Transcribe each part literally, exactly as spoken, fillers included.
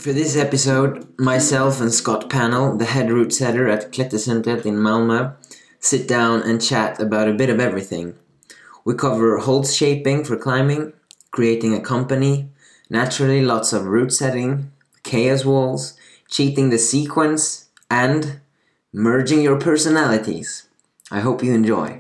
For this episode, myself and Scott Panel, the head root setter at Klättercentret in Malmö, sit down and chat about a bit of everything. We cover holds shaping for climbing, creating a company, naturally lots of root setting, chaos walls, cheating the sequence, and merging your personalities. I hope you enjoy.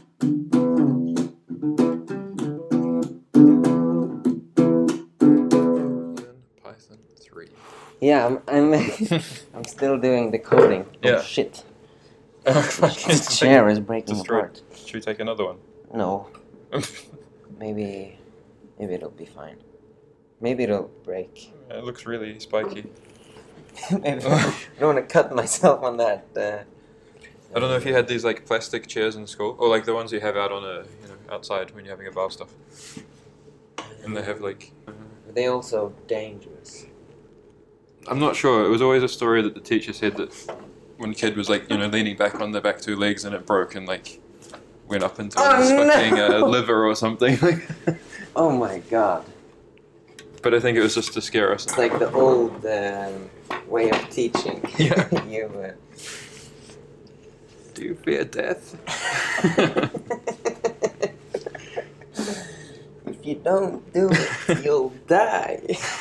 Python three. Yeah, I'm I'm, I'm still doing the coding. Oh Yeah. shit. The This chair is breaking destroyed. apart. Should we take another one? No, maybe maybe it'll be fine. Maybe it'll break. It looks really spiky. Maybe I don't want to cut myself on that. Uh, I don't know if you had these like plastic chairs in school, or like the ones you have out on a you know outside when you're having a bar stuff, and they have like. Are they also dangerous? I'm not sure. It was always a story that the teacher said that one kid was like you know leaning back on their back two legs and it broke and like went up into Oh, his fucking no. uh, liver or something. Oh my god. But I think it was just to scare us. It's like the old um, way of teaching. Yeah. you, uh... Do you fear death? If you don't do it, you'll die.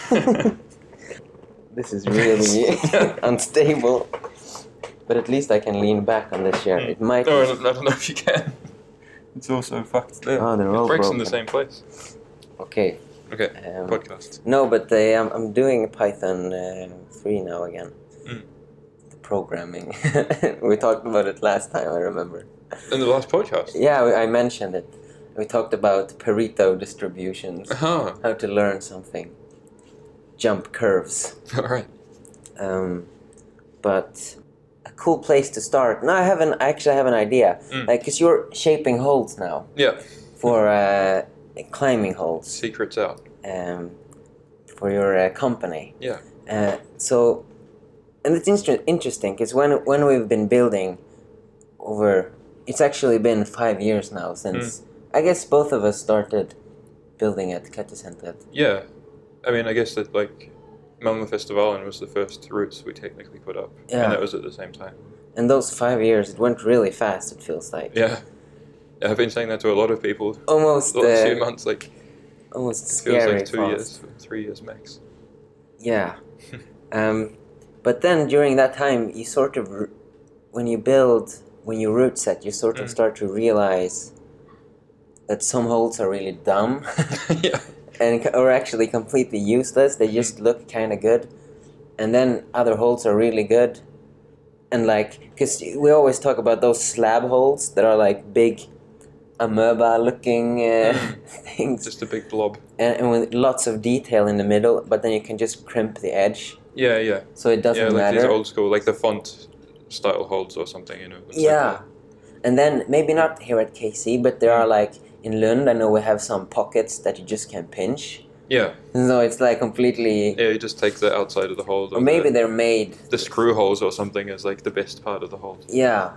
This is really unstable. But at least I can lean back on the chair. It might. No, I don't, I don't know if you can. It's also fucked there. Oh, they're all it breaks in broken. the same place. Okay. Okay, Um, podcast. No, but uh, I'm, I'm doing Python uh, three now again. Mm. The programming. We talked about it last time, I remember. In the last podcast? Yeah, we- I mentioned it. We talked about Pareto distributions, Uh-huh. how to learn something, jump curves. Alright. Um, but a cool place to start. No, I have an. I actually have an idea. Mm. Like, cause you're shaping holds now Yeah, for uh, climbing holds. secret's out. Um, for your uh, company. Yeah. Uh, so, and it's inter- interesting because when when we've been building over, it's actually been five years now since I guess both of us started building at Klättercentret. Yeah. I mean, I guess that, like, Malmö Festivalen was the first routes we technically put up. Yeah. And that was at the same time. And those five years, it went really fast. It feels like Yeah. Yeah, I've been saying that to a lot of people. almost The last few uh, months, like, almost it feels scary like two fast. years, three years max. Yeah. um, but then during that time, you sort of, r- when you build, when you root set, you sort of Mm. start to realize that some holds are really dumb Yeah. and c- or actually completely useless. They just look kind of good, and then other holds are really good. And like, because we always talk about those slab holds that are like big amoeba-looking uh, things, Just a big blob. and, and with lots of detail in the middle. But then you can just crimp the edge, Yeah, yeah. so it doesn't Yeah, like matter. these old school, like the font style holds or something, you know. it's like Yeah, that. and then maybe not here at K C, but there are like in Lund. I know we have some pockets that you just can pinch. Yeah, So it's like completely, yeah, you just take the outside of the hold. or maybe the, they're made. the screw holes or something is like the best part of the hold. Yeah,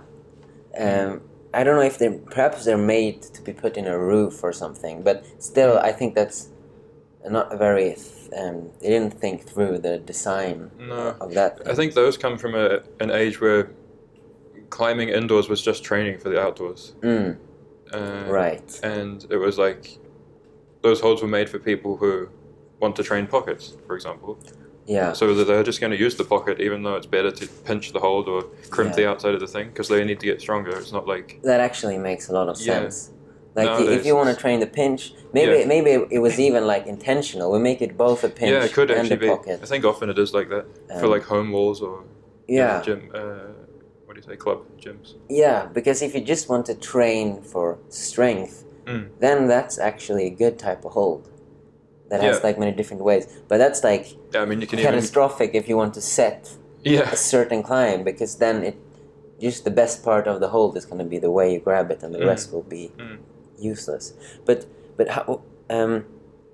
um, I don't know if they're perhaps they're made to be put in a roof or something, but still, I think that's not a very. Um, they didn't think through the design No. of that. I think those come from a, an age where climbing indoors was just training for the outdoors. Mm, Uh, right. And it was like, those holds were made for people who want to train pockets, for example. Yeah. So that they're just going to use the pocket, even though it's better to pinch the hold or crimp Yeah. the outside of the thing, because they need to get stronger. It's not like, That actually makes a lot of Yeah. sense. Like i- if Nowadays you want to it's- train the pinch, maybe Yeah. maybe it was even like intentional. We make it both a pinch yeah, it could and actually a be. pocket. I think often it is like that for Um, like home walls or you know, Yeah, gym. Uh, what do you say? Club gyms. yeah. Because if you just want to train for strength, Mm. then that's actually a good type of hold. That has Yeah. like many different ways. But that's like Yeah, I mean you can even. catastrophic if you want to set Yeah. a certain climb, because then it just the best part of the hold is going to be the way you grab it, and the Mm. rest will be Mm. useless. But but how um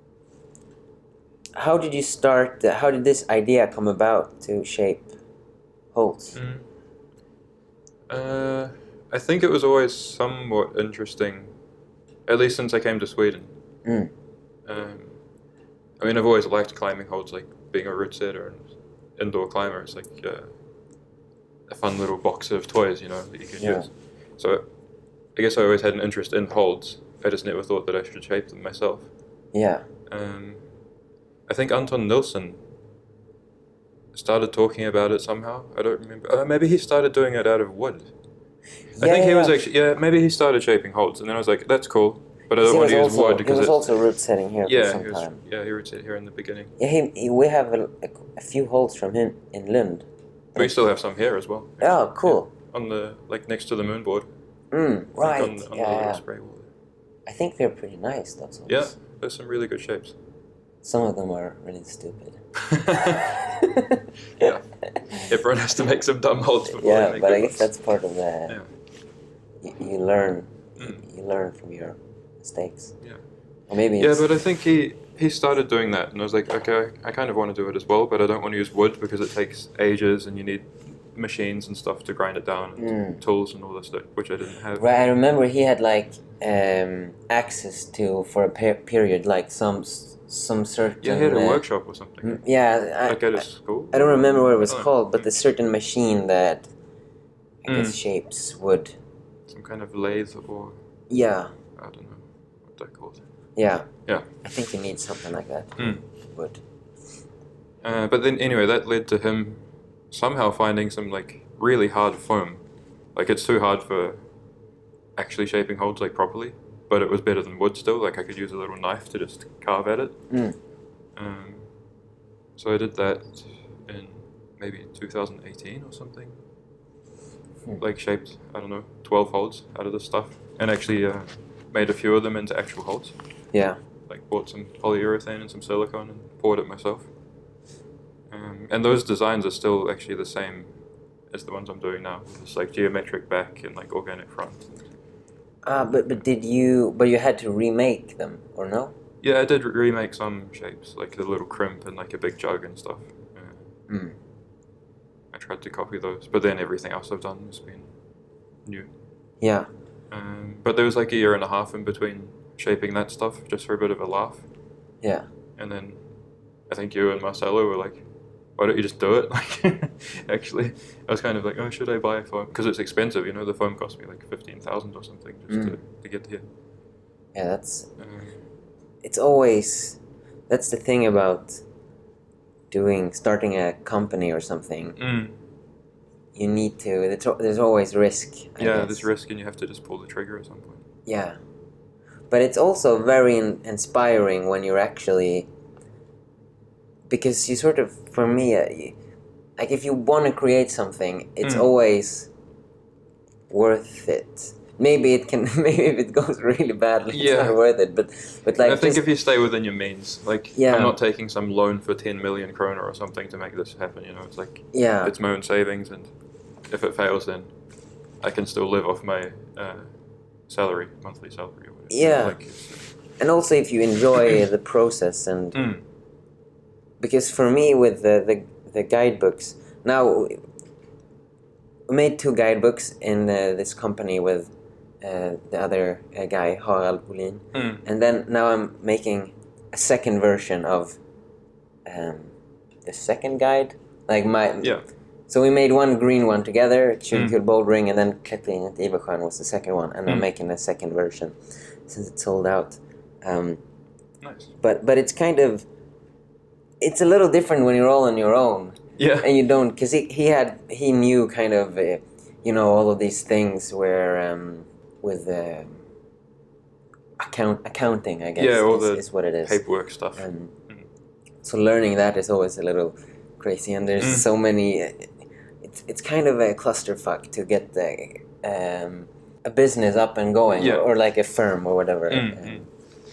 how did you start? Uh, how did this idea come about to shape holds? Mm. Uh, I think it was always somewhat interesting, at least since I came to Sweden. Mm. Um, I mean, I've always liked climbing holds, like being a root setter and indoor climber. It's like uh, a fun little box of toys, you know, that you can Yeah. use. So I guess I always had an interest in holds. I just never thought that I should shape them myself. Yeah. Um, I think Anton Nilsson started talking about it somehow. I don't remember. Uh, maybe he started doing it out of wood. Yeah, I think he yeah, was yeah. actually, yeah, maybe he started shaping holds, and then I was like, that's cool, but I He don't want was to use also, wood he because was it, also root setting here yeah, for some he was, time. yeah, he roots it here in the beginning. Yeah, he, he, we have a, a, a few holds from him in Lund. We still have some here as well. Oh, cool. Yeah, on the, like, next to the moon board. Mm, Like right. on, on yeah, the little yeah. spray wall. I think they're pretty nice, those holds. Yeah, there's some really good shapes. Some of them are really stupid. Yeah. Everyone has to make some dumb holds before they Yeah, make but good I guess ones. that's part of the... Yeah. You, you learn. Mm. You learn from your mistakes. Yeah. Or maybe Yeah, it's... but I think he, he started doing that, and I was like, okay, I kind of want to do it as well, but I don't want to use wood because it takes ages, and you need machines and stuff to grind it down, and Mm. tools and all this stuff, which I didn't have. Right, I remember he had like um, access to, for a per- period, like some s- some certain... Yeah, he had a uh, workshop or something. m- Yeah, I, Like at I, his school? I don't remember what it was Oh. called, but the certain machine that I guess Mm. shapes wood. Some kind of lathe or, Yeah, I don't know what they're called. yeah. Yeah. I think you need something like that. Mm. Wood. Uh, but then anyway, that led to him somehow finding some like really hard foam. Like it's too hard for actually shaping holds like properly, but it was better than wood still. Like I could use a little knife to just carve at it. Mm. Um, so I did that in maybe two thousand eighteen or something. Hmm. Like shaped, I don't know, twelve holds out of this stuff, and actually uh, made a few of them into actual holds. Yeah. Like bought some polyurethane and some silicone and poured it myself. Um, and those designs are still actually the same as the ones I'm doing now. It's like geometric back and like organic front. Ah, but but did you? But you had to remake them, or no? Yeah, I did re- remake some shapes, like the little crimp and like a big jug and stuff. Uh, Mm. I tried to copy those, but then everything else I've done has been new. Yeah. Um, but there was like a year and a half in between shaping that stuff, just for a bit of a laugh. Yeah. And then I think you and Marcelo were like, why don't you just do it? Like, actually, I was kind of like, oh, should I buy a foam? Because it's expensive, you know, the foam cost me like fifteen thousand or something just Mm. to, to get here. Yeah. That's. Um, It's always. That's the thing about doing starting a company or something. mm, You need to. There's, al- there's always risk. I yeah, guess. there's risk and you have to just pull the trigger at some point. Yeah. But it's also very in- inspiring when you're actually. Because you sort of, for me, uh, you, like if you want to create something, it's Mm. always worth it. Maybe it can. Maybe if it goes really badly, it's Yeah. not worth it. But but like I think just, if you stay within your means, like, Yeah. I'm not taking some loan for ten million kroner or something to make this happen, you know, it's like, yeah, it's my own savings, and if it fails, then I can still live off my uh, salary, monthly salary or whatever. Yeah. Like, it's- and also if you enjoy the process, and mm, because for me with the the, the guidebooks now, we made two guidebooks in uh, this company with uh, the other uh, guy Harald Bolin, mm, and then now I'm making a second version of um, the second guide, like my yeah. So we made one green one together, Mm. Kjolkul Bouldering, and then Klättring at Iversjön was the second one, and I'm Mm. making a second version since it's sold out. Um, Nice. but but it's kind of it's a little different when you're all on your own Yeah. and you don't, because he, he had he knew kind of uh, you know all of these things where um, with uh, account accounting I guess Yeah, all is, the is what it is. Paperwork stuff. Um, Mm. so learning that is always a little crazy, and there's Mm. so many. It's it's kind of a clusterfuck to get the um, a business up and going, Yeah. or, or like a firm or whatever. Mm, Um, mm.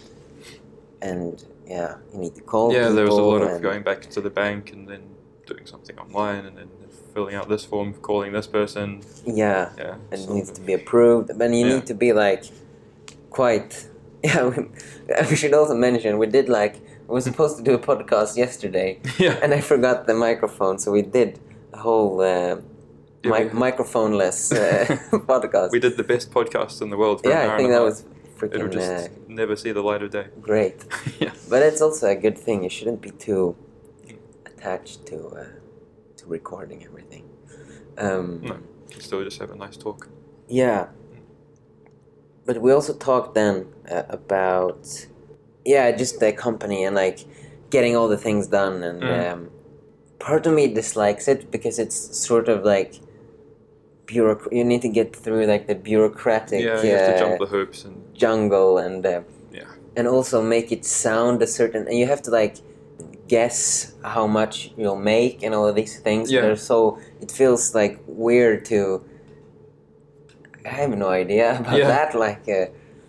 And yeah, you need to call. Yeah, there was a people lot of and- going back to the bank and then doing something online and then filling out this form, calling this person. Yeah, Yeah. and it so- needs to be approved. But you Yeah. need to be like quite. Yeah, we, we should also mention we did like we were supposed to do a podcast yesterday, yeah. and I forgot the microphone, so we did a whole uh, Yeah, mi- we- microphone-less uh, podcast. We did the best podcast in the world for an Yeah, hour I think and a that half. was It'll freaking just uh, never see the light of day. great. Yeah. But it's also a good thing. You shouldn't be too attached to uh, to recording everything. Um, No, you still just have a nice talk. Yeah. But we also talked then uh, about, yeah, just the company and like getting all the things done. And Mm. um, part of me dislikes it because it's sort of like bureauc- you need to get through like the bureaucratic Yeah, you have to uh, jump the hoops and jungle and uh, yeah, and also make it sound a certain, and you have to like guess how much you'll make and all of these things. Yeah. They're so, it feels like weird to, I have no idea about Yeah. that, like uh,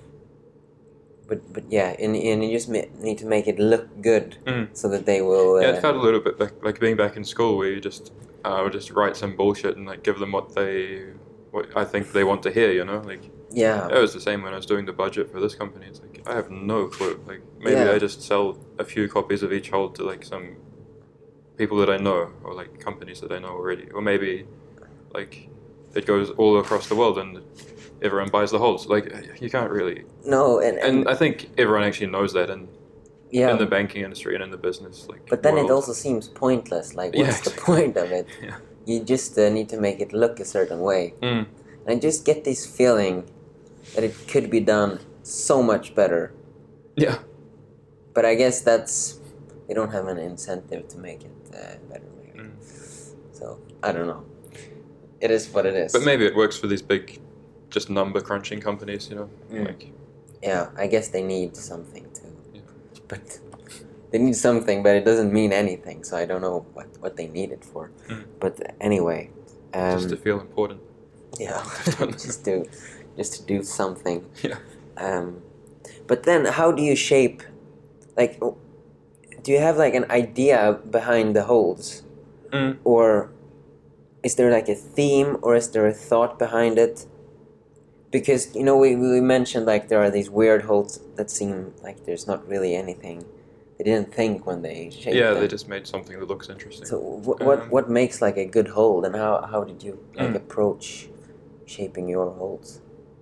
but but yeah, and, and you just ma- need to make it look good Mm. so that they will uh, yeah. It felt a little bit like, like being back in school where you just uh, would just write some bullshit and like give them what they what I think they want to hear. You know, like yeah it was the same when I was doing the budget for this company. It's like I have no clue. Like maybe Yeah. I just sell a few copies of each hold to like some people that I know or like companies that I know already, or maybe like it goes all across the world and everyone buys the holds. Like you can't really. no and, and, And I think everyone actually knows that in yeah in the banking industry and in the business. Like, but then it world. also seems pointless, like Yeah, what's the exactly. point of it? Yeah. You just uh, need to make it look a certain way. Mm. And I just get this feeling that it could be done so much better. Yeah. But I guess that's, they don't have an incentive to make it uh, better, maybe. Mm. So, I don't know. It is what it is. But maybe it works for these big, just number crunching companies. You know, Mm. like Yeah, I guess they need something too. Yeah. But they need something, but it doesn't mean anything, so I don't know what, what they need it for. Mm. But anyway. Um, just to feel important. yeah, just to just to do something. Yeah. Um, but then, how do you shape? Like, do you have like an idea behind the holds, Mm. or is there like a theme, or is there a thought behind it? Because you know, we we mentioned like there are these weird holds that seem like there's not really anything. They didn't think when they shaped Yeah, them. they just made something that looks interesting. So wh- what Um, what makes like a good hold, and how how did you like Mm. approach shaping your holds?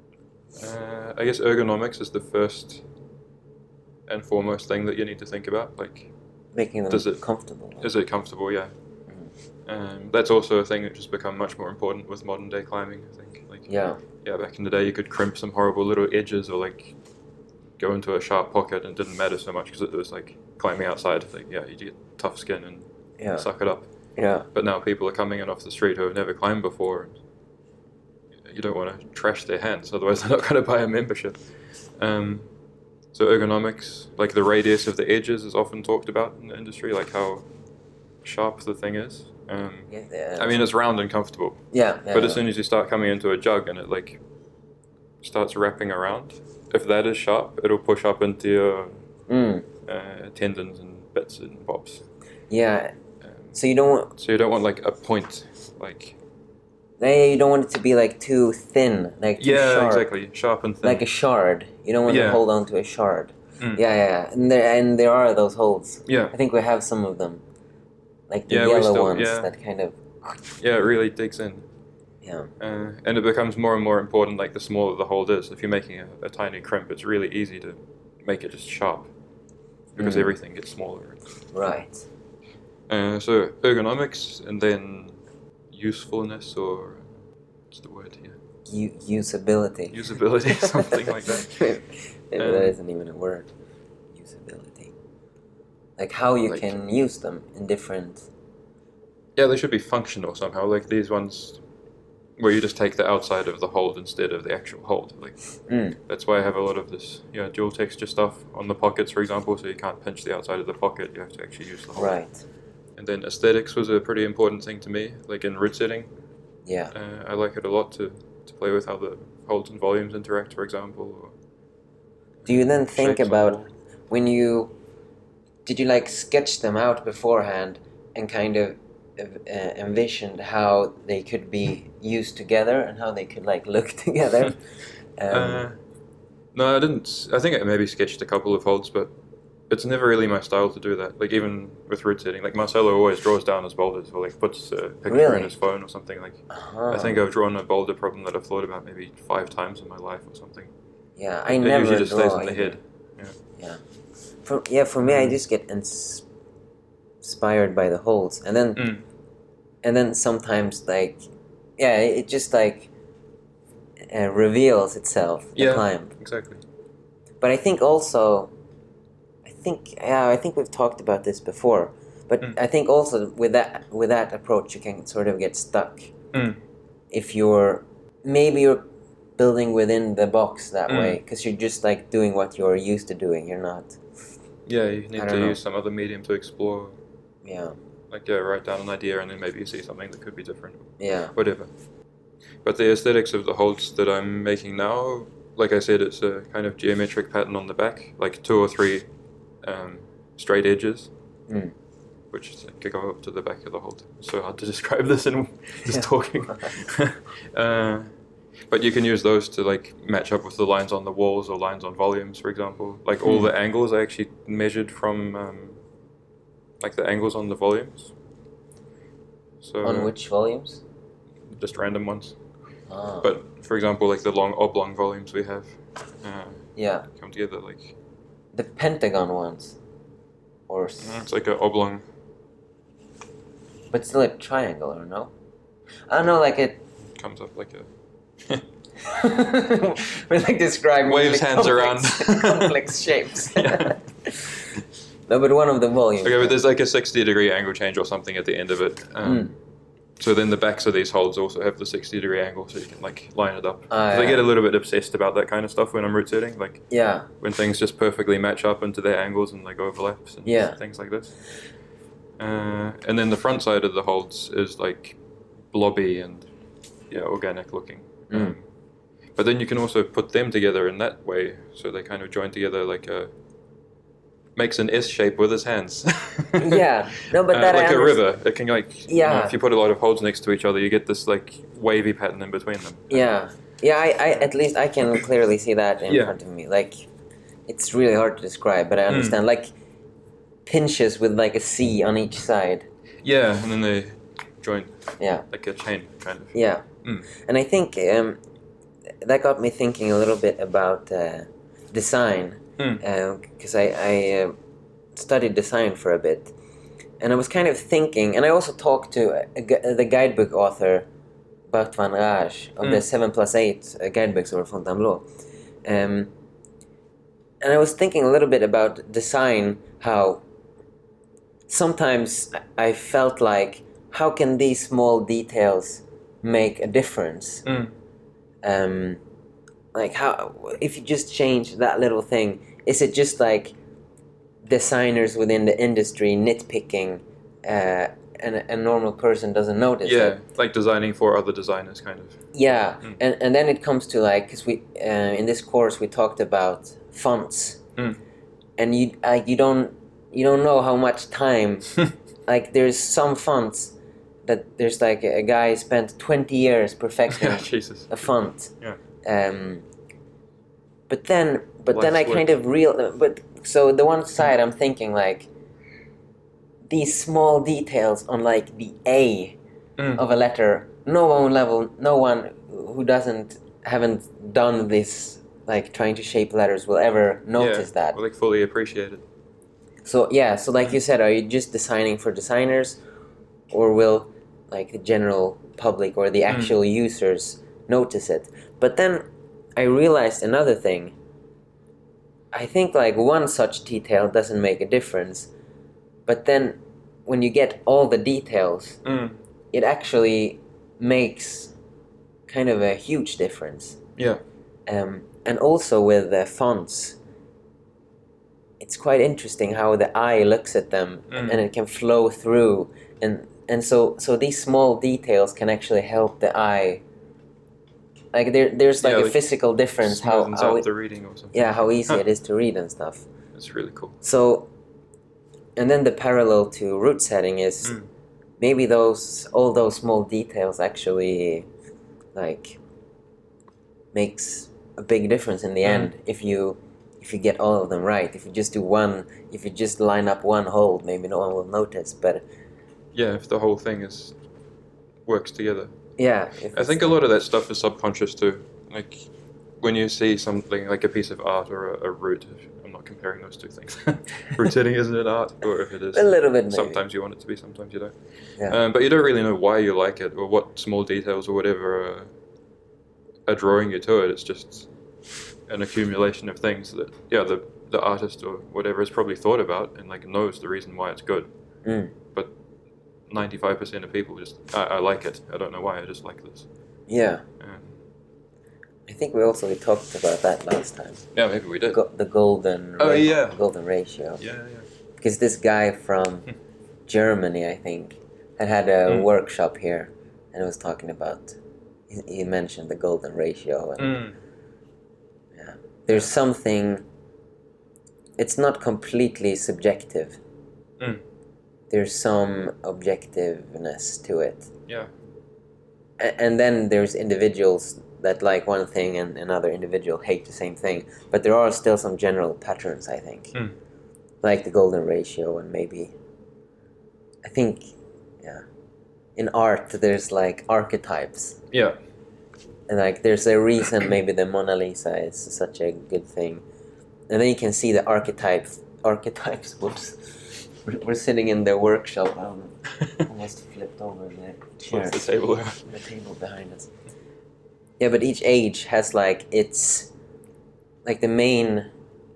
Uh, I guess ergonomics is the first and foremost thing that you need to think about. Like, Making them Does it- comfortable. is it comfortable? Yeah. Um, that's also a thing that has become much more important with modern day climbing. I think. Like, Yeah. yeah, back in the day, you could crimp some horrible little edges or like go into a sharp pocket, and it didn't matter so much because it was like climbing outside. Like, yeah, you get tough skin and Yeah. suck it up. Yeah. But now people are coming in off the street who have never climbed before. And you don't want to trash their hands, otherwise they're not going to buy a membership. Um, so ergonomics, like the radius of the edges, is often talked about in the industry, like how sharp the thing is. Um, Yeah. yeah. I mean, it's round and comfortable, Yeah. yeah but as yeah. soon as you start coming into a jug and it like starts wrapping around, if that is sharp, it'll push up into your Mm. uh, tendons and bits and bobs. Yeah. Um, So you don't want, so you don't want like a point, like eh, you don't want it to be like too thin, like too yeah, sharp, exactly, sharp and thin. like a shard. You don't want to Yeah. hold on to a shard. Mm. Yeah, yeah, yeah. And there and there are those holds. Yeah, I think we have some of them, like the Yeah, we yellow still- ones yeah. that kind of yeah, it really digs in. yeah. Uh, and it becomes more and more important, like the smaller the hold is. If you're making a, a tiny crimp, it's really easy to make it just sharp because Mm. everything gets smaller. Right. Uh, so ergonomics and then usefulness, or what's the word here? U- usability. Usability, something like that. Maybe Um, that isn't even a word. Usability. Like how you Like- can use them in different. Yeah, they should be functional somehow. Like these ones, where you just take the outside of the hold instead of the actual hold. Like Mm. that's why I have a lot of this, yeah, dual texture stuff on the pockets, for example. So you can't pinch the outside of the pocket. You have to actually use the hold. Right. And then aesthetics was a pretty important thing to me. Like in root setting, Yeah. uh, I like it a lot to, to play with how the holds and volumes interact, for example. Or Do you then think shapes on the about hold. when you did you like sketch them out beforehand and kind of uh, envisioned how they could be used together and how they could like look together? Um, Uh, no, I didn't. I think I maybe sketched a couple of holds, but it's never really my style to do that. Like even with root setting, like Marcelo always draws down his boulders or like puts a picture Really? in his phone or something. Like uh-huh. I think I've drawn a boulder problem that I've thought about maybe five times in my life or something. Yeah, I It never usually just draw stays in the either. head. Yeah. For yeah, for me, I Mm. just get ins- inspired by the holds, and then Mm. and then sometimes like, yeah, it just like uh, reveals itself. The Yeah. climb. Exactly. But I think also, I think yeah, I think we've talked about this before. But Mm. I think also with that with that approach, you can sort of get stuck Mm. if you're maybe you're building within the box that Mm. way because you're just like doing what you're used to doing. You're not. Yeah, you I need don't to know. use some other medium to explore. Yeah. Like, yeah, write down an idea and then maybe you see something that could be different. Yeah. Whatever. But the aesthetics of the holds that I'm making now, like I said, it's a kind of geometric pattern on the back, like two or three um, straight edges, Mm. which could go up to the back of the hold. It's so hard to describe this in just Yeah. talking. uh, but you can use those to like match up with the lines on the walls or lines on volumes, for example. Like all Mm. the angles I actually measured from um, like the angles on the volumes. So On which volumes? just random ones. Ah. But for example, like the long oblong volumes we have uh, Yeah. come together like The pentagon ones. Or s- uh, it's like an oblong. but still a triangle, or no? I don't know, like it. Comes up like a We're like describing Waves really hands complex, around. complex shapes. Yeah. No, but one of the volumes. Okay, but there's like a sixty degree angle change or something at the end of it. Um, Mm. So then the backs of these holds also have the sixty degree angle, so you can like line it up. Ah, 'Cause I yeah. get a little bit obsessed about that kind of stuff when I'm root setting, like Yeah. when things just perfectly match up into their angles and like overlaps and Yeah. things like this. Uh, and then the front side of the holds is like blobby and yeah, organic looking. Mm. Um, but then you can also put them together in that way, so they kind of join together like a makes an S shape with his hands. Yeah. No, but Uh, that I like a understand. river. It can like you know, Yeah. if you put a lot of holds next to each other, you get this like wavy pattern in between them. Yeah. Yeah. I, I at least I can clearly see that in Yeah. front of me. Like, it's really hard to describe, but I Mm. understand. Like pinches with like a C on each side. Yeah, and then they join Yeah. like a chain kind of. Yeah. Mm. And I think um, that got me thinking a little bit about uh, design. Mm. Because I, I uh, studied design for a bit, and I was kind of thinking, and I also talked to a, gu- the guidebook author Bart van Rage of the Mm. seven plus eight uh, guidebooks over Fontainebleau, um, and I was thinking a little bit about design. How sometimes I felt like, how can these small details make a difference? Mm. Um, like how if you just change that little thing, is it just like designers within the industry nitpicking, uh, and a, a normal person doesn't notice Yeah, it? like designing for other designers, kind of. Yeah, Mm. and and then it comes to like, because we uh, in this course we talked about fonts, Mm. and you like you don't you don't know how much time like there's some fonts that there's like a, a guy spent twenty years perfecting Yeah, Jesus. a font. Yeah. Um, but then, but then I Life's kind work. of real. But so the one side I'm thinking like these small details on like the A Mm. of a letter. No one level, no one who doesn't haven't done this like trying to shape letters will ever notice yeah, that. or like fully appreciate it. So yeah, so like you said, are you just designing for designers, or will like the general public or the actual users notice it? But then I realized another thing. I think like one such detail doesn't make a difference, but then when you get all the details, Mm. it actually makes kind of a huge difference. Yeah. Um, and also with the fonts, it's quite interesting how the eye looks at them Mm. and it can flow through, and and so so these small details can actually help the eye. Like there there's like Yeah, a like physical difference how, Smoothens how out it, the reading or something. yeah how easy Huh. it is to read and stuff. It's really cool. So, and then the parallel to root setting is Mm. maybe those all those small details actually like makes a big difference in the Mm. end if you if you get all of them right. If you just do one, if you just line up one hold, maybe no one will notice. But Yeah, if the whole thing is works together. yeah, if I it's think a like- lot of that stuff is subconscious too. Like when you see something like a piece of art or a, a root, I'm not not comparing those two things. Route hitting isn't an art, or if it is, A little bit, maybe. sometimes you want it to be, sometimes you don't. Yeah. Um, but you don't really know why you like it, or what small details or whatever are, are drawing you to it. It's just an accumulation of things that, yeah, the the artist or whatever has probably thought about and like knows the reason why it's good. Mm. But ninety-five percent of people just, I, I like it. I don't know why, I just like this. Yeah. Um, I think we also talked about that last time. yeah, maybe we did. Go- the golden Oh, ra- yeah. golden ratio. Yeah, yeah. Because this guy from Germany, I think, had had a Mm. workshop here and was talking about, he, he mentioned the golden ratio. And Mm. yeah, there's something, it's not completely subjective. Mm. There's some objectiveness to it. Yeah. A- and then there's individuals that like one thing and another individual hate the same thing. But there are still some general patterns, I think. Mm. Like the golden ratio and maybe, I think, yeah. In art, there's like archetypes. Yeah. And like there's a reason maybe the Mona Lisa is such a good thing. And then you can see the archetypes. Archetypes, whoops. We're, we're sitting in the workshop. Um, almost flipped over the chair. What's the table there? The table behind us. Yeah, but each age has like its, like the main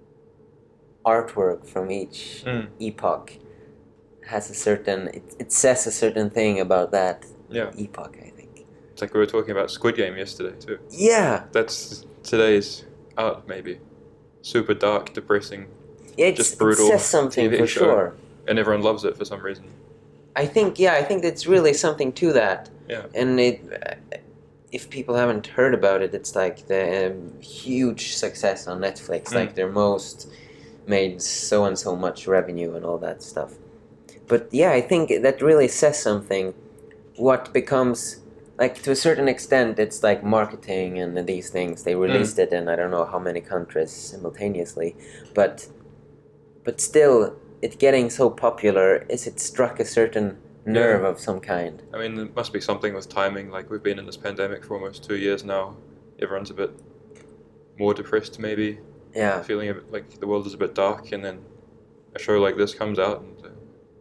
artwork from each Mm. epoch has a certain, it, it says a certain thing about that Yeah. epoch, I think. It's like we were talking about Squid Game yesterday too. Yeah, That's today's art, maybe. Super dark, depressing, yeah it's, Just brutal it says something T V for show. sure. and everyone loves it for some reason. I think, yeah, I think it's really something to that. Yeah. And it, uh, if people haven't heard about it, it's like the um, huge success on Netflix, Mm. like their most made so and so much revenue and all that stuff. But yeah, I think that really says something. What becomes, like to a certain extent, it's like marketing and these things. They released it in I don't know how many countries simultaneously, but but still, it getting so popular is it struck a certain nerve Yeah. of some kind. I mean, there must be something with timing. Like, we've been in this pandemic for almost two years now. Everyone's a bit more depressed, maybe. Yeah, Feeling a bit like the world is a bit dark, and then a show like this comes out. And, uh,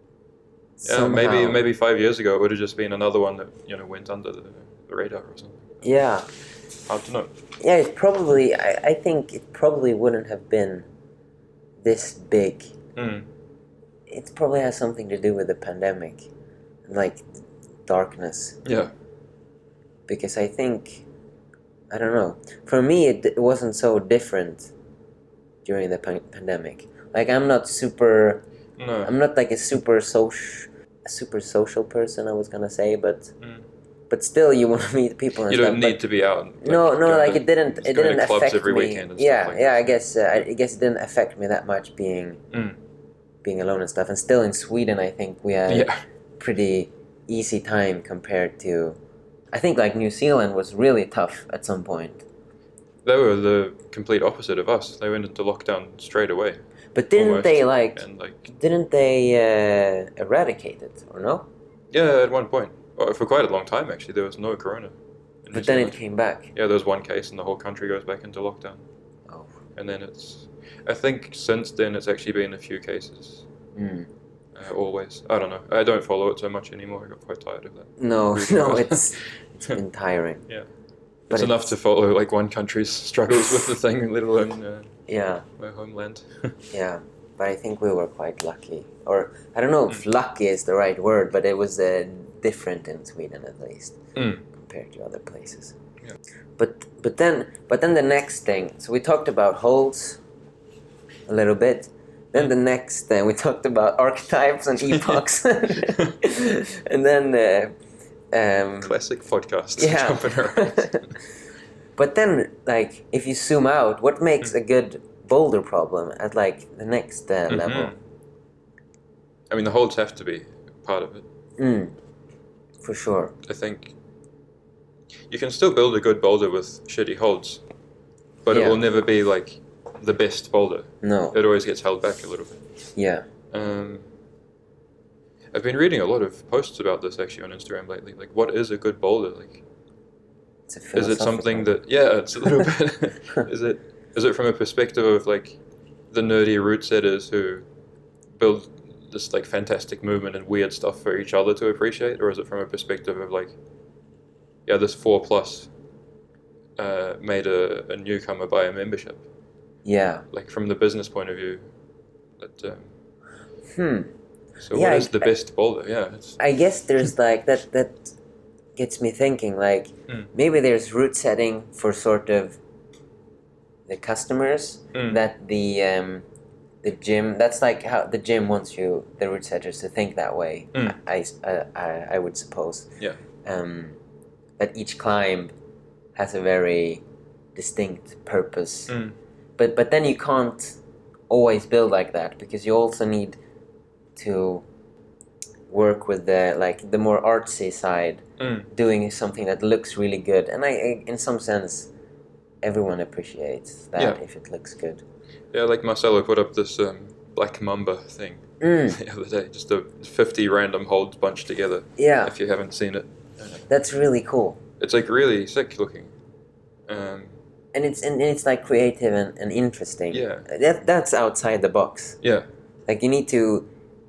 yeah, somehow. maybe maybe five years ago it would have just been another one that, you know, went under the, the radar or something. Yeah, Hard to know. yeah. It probably. I, I think it probably wouldn't have been this big. Mm. It probably has something to do with the pandemic, like darkness. Yeah. Because I think, I don't know. For me, it, it wasn't so different during the pan- pandemic. Like I'm not super. No. I'm not like a super social, a super social person. I was gonna say, but Mm. but still, you want to meet people. And You stuff, don't but- need to be out. Like, no, no, going like to- it didn't. just It going to didn't clubs affect every me. weekend and yeah, stuff like yeah. that. I guess. Uh, I, I guess it didn't affect me that much being Mm. being alone and stuff. And still in Sweden, I think we had Yeah. pretty easy time compared to. I think like New Zealand was really tough at some point. They were the complete opposite of us. They went into lockdown straight away. But didn't Almost. they like? And like, Didn't they uh, eradicate it or no? yeah, at one point, well, for quite a long time actually, there was no corona. in New But then it Zealand. came back. Yeah, there's one case and the whole country goes back into lockdown. Oh. And then it's, I think since then it's actually been a few cases. Mm. Uh, always. I don't know. I don't follow it so much anymore. I got quite tired of that. No, Reading no, about it. it's it's been tiring. Yeah. But It's enough to follow like one country's struggles with the thing, let alone uh, Yeah, my homeland. yeah. But I think we were quite lucky, or I don't know if Mm. lucky is the right word, but it was uh, different in Sweden at least Mm. compared to other places. Yeah. But but then but then the next thing. So we talked about holes a little bit. Then the next thing we talked about archetypes and epochs, and then uh, um, Classic podcast. yeah. Jumping around. But then, like, if you zoom out, what makes a good boulder problem at like the next uh, Mhm. level? I mean, the holds have to be part of it. Mm, for sure. I think you can still build a good boulder with shitty holds, but Yeah. it will never be like the best boulder. No. It always gets held back a little bit. Yeah. Um, I've been reading a lot of posts about this actually on Instagram lately. Like, what is a good boulder? Like, It's a is it something philosophical- that? Yeah, it's a little bit. Is it? Is it from a perspective of like the nerdy route setters who build this like fantastic movement and weird stuff for each other to appreciate, or is it from a perspective of like, yeah, this four plus uh, made a, a newcomer buy a membership? Yeah. Like from the business point of view. That, um, Hmm. so Yeah, what is I- the best boulder? Yeah. It's, I guess there's like that that gets me thinking like Mm. maybe there's route setting for sort of the customers Mm. that the um, the gym that's like how the gym wants you the route setters to think that way. Mm. I, I, I, I would suppose. Yeah. Um, that each climb has a very distinct purpose. Mm. But but then you can't always build like that because you also need to work with the like the more artsy side, Mm. doing something that looks really good. And I, I in some sense, everyone appreciates that Yeah. if it looks good. Yeah, like Marcelo put up this um, Black Mamba thing Mm, the other day, just a fifty random holds bunched together. yeah, If you haven't seen it, that's really cool. it's like really sick looking. Um, And it's and it's like creative and, and interesting. Yeah. That that's outside the box. yeah, Like you need to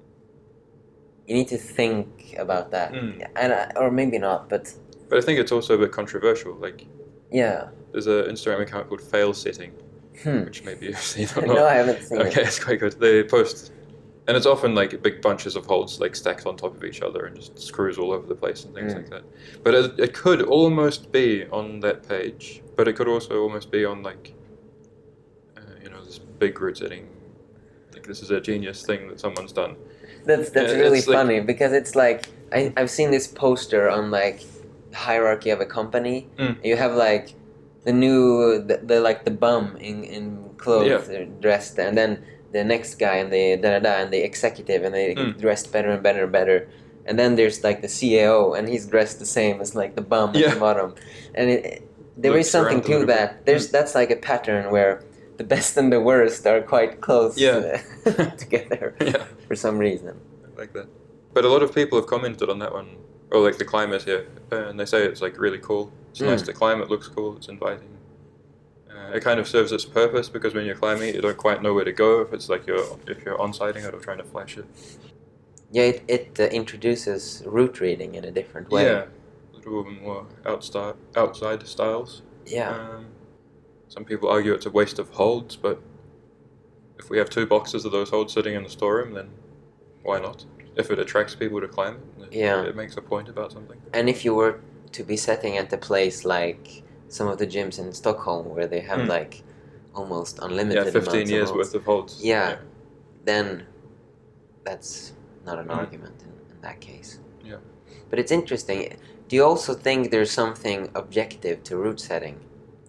you need to think about that. Mm. And I, or maybe not, but but I think it's also a bit controversial. Like, yeah. there's an Instagram account called Fail Setting, Hmm. which maybe you've seen or not. No, I haven't seen Okay, it. it's quite good. They post, and it's often like big bunches of holds like stacked on top of each other and just screws all over the place and things Mm. like that. But it, it could almost be on that page, but it could also almost be on like, uh, you know, this big route setting. Like this is a genius thing that someone's done. That's that's Yeah, really it's like- funny because it's like I, I've seen this poster on like the hierarchy of a company. Mm. You have like the new the, the like the bum in, in clothes uh, dressed, and then the next guy and the da da da and the executive and they Mm. dressed better and better and better. And then there's like the C A O and he's dressed the same as like the bum at Yeah. the bottom. And it, there Looks is something around a to little bit. that. There's that's like a pattern where the best and the worst are quite close Yeah. uh, together Yeah. for some reason. Like that. But a lot of people have commented on that one, or like the climate here, uh, and they say it's like really cool. It's Mm. nice to climb. It looks cool. It's inviting. Uh, it kind of serves its purpose because when you're climbing, you don't quite know where to go. If it's like you're if you're on-sighting it or trying to flash it. Yeah, it, it uh, introduces route reading in a different way. Yeah, a little bit more outside outside styles. Yeah. Um, some people argue it's a waste of holds, but if we have two boxes of those holds sitting in the storeroom, then why not? If it attracts people to climb it, it, Yeah. it makes a point about something. And if you were to be setting at a place like some of the gyms in Stockholm where they have Mm. like almost unlimited Yeah, fifteen amounts of years holds, worth of holds. Yeah. then that's not an Mm. argument in, in that case. Yeah. But it's interesting. Do you also think there's something objective to route setting?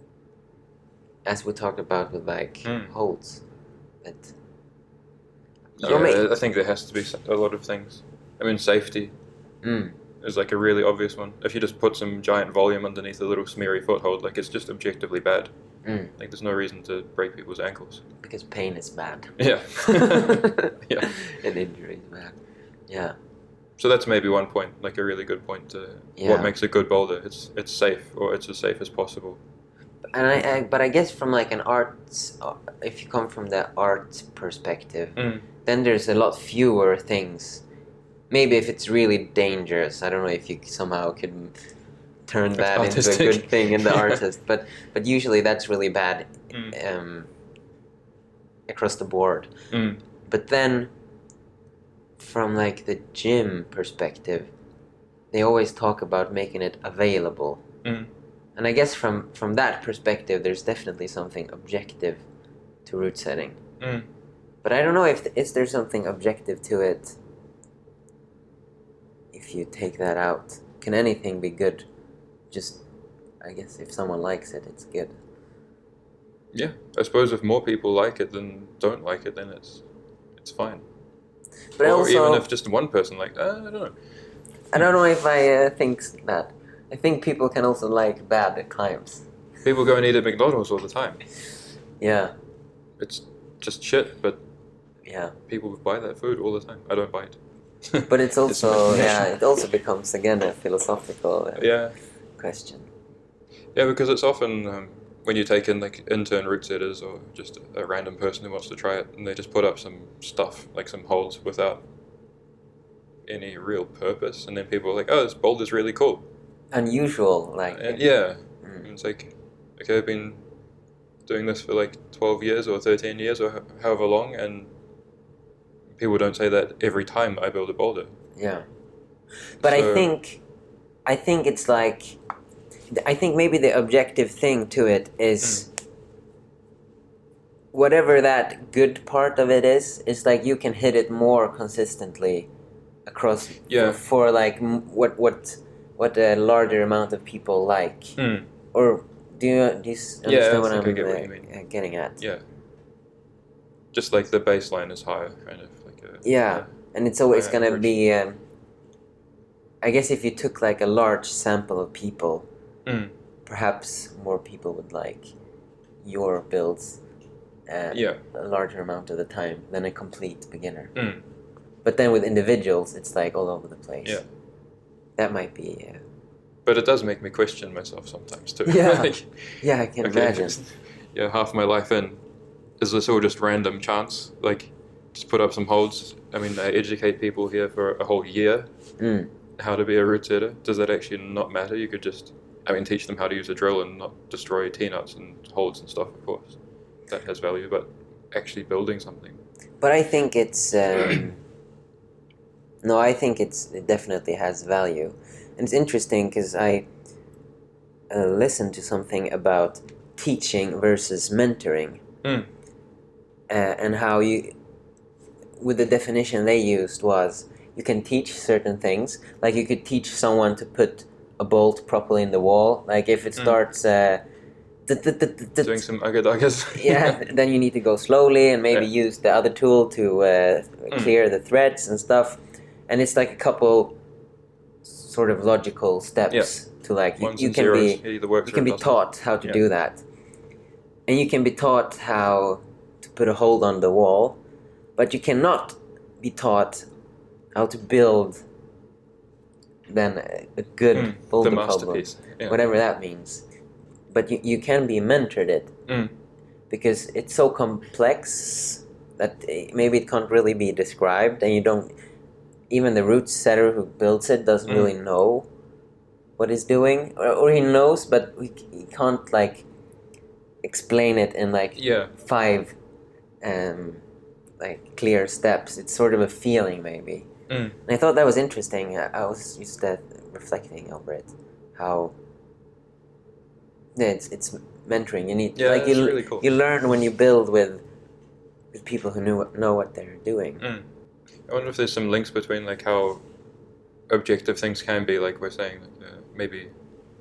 As we talked about with like Mm. holds. That Yeah, You're ma- I think there has to be s- a lot of things. I mean, safety Mm. is like a really obvious one. If you just put some giant volume underneath a little smeary foothold, like it's just objectively bad. Mm. Like there's no reason to break people's ankles. Because pain is bad. Yeah. Yeah. And injury is bad. Yeah. So that's maybe one point, like a really good point to Yeah. what makes a good boulder. It's it's safe, or it's as safe as possible. And I, I, but I guess from like an arts, uh, if you come from the art perspective, Mm. then there's a lot fewer things. Maybe if it's really dangerous, I don't know if you somehow could turn That's that into a artistic. good thing in the Yeah. artist. But but usually that's really bad Mm. um, across the board. Mm. But then, from like the gym perspective, they always talk about making it available. Mm. And I guess from, from that perspective, there's definitely something objective to route setting. Mm. But I don't know if is there something objective to it. If you take that out, can anything be good? Just, I guess if someone likes it, it's good. Yeah, I suppose if more people like it than don't like it, then it's it's fine. But or also, even if just one person liked, uh, I don't know. I don't know if I uh, think that. I think people can also like bad climbs. People go and eat at McDonald's all the time. Yeah, It's just shit, but yeah. people buy that food all the time. I don't buy it. But it's also an yeah, imagination. it also becomes again a philosophical uh, Yeah, question. yeah, because it's often um, when you take in like intern root setters or just a random person who wants to try it, and they just put up some stuff, like some holes without any real purpose, and then people are like, oh, this boulder's really cool. Unusual, like... And yeah, Mm. and it's like, okay, I've been doing this for like twelve years or thirteen years or h- however long, and people don't say that every time I build a boulder. Yeah. But I So- think, I think it's like, I think maybe the objective thing to it is, whatever that good part of it is, is like you can hit it more consistently across Yeah. for, for like m- what what what a larger amount of people like. Mm. Or do you do you s- Yeah, I understand what think I'm I get what uh, you mean. uh, getting at? Yeah. Just like the baseline is higher, kind of like a Yeah, and it's always Yeah, gonna which- be. Um, I guess if you took like a large sample of people, Mm. perhaps more people would like your builds uh, Yeah. a larger amount of the time than a complete beginner. Mm. But then with individuals, it's like all over the place. Yeah. That might be. Uh, But it does make me question myself sometimes too. Yeah. Like, yeah, I can okay, imagine. yeah, half my life in, is this all just random chance? Like, just put up some holds. I mean, I educate people here for a whole year Mm. how to be a root setter. Does that actually not matter? You could just, I mean, teach them how to use a drill and not destroy T-nuts and holds and stuff, of course. That has value, but actually building something. But I think it's. Um, no, I think it's it definitely has value, and it's interesting because I uh, listened to something about teaching versus mentoring, Mm. uh, and how you, with the definition they used was you can teach certain things, like you could teach someone to put a bolt properly in the wall, like if it Mm. starts. Uh, tut, tut, tut, tut, tut, Doing some ugga-duggas. yeah, then you need to go slowly and maybe Yeah. use the other tool to uh, Mm. clear the threads and stuff. And it's like a couple sort of logical steps Yeah. to like you, Ones you and can zeros. be It either works you or can it be doesn't. taught how to Yeah. do that, and you can be taught how to put a hold on the wall, but you cannot be taught how to build then a, a good Mm. boulder The problem, masterpiece. Yeah. whatever that means. But you, you can be mentored it Mm. because it's so complex that eh, maybe it can't really be described, and you don't even the root setter who builds it doesn't Mm. really know what he's doing, or, or he knows, but he, he can't like explain it in like Yeah. five um, like clear steps. It's sort of a feeling maybe. Mm. And I thought that was interesting. I, I was just uh, reflecting over it, how yeah, it's it's mentoring. You need Yeah, like that's you really cool. you learn when you build with with people who knew know what they're doing. Mm. I wonder if there's some links between like how objective things can be, like we're saying, uh, maybe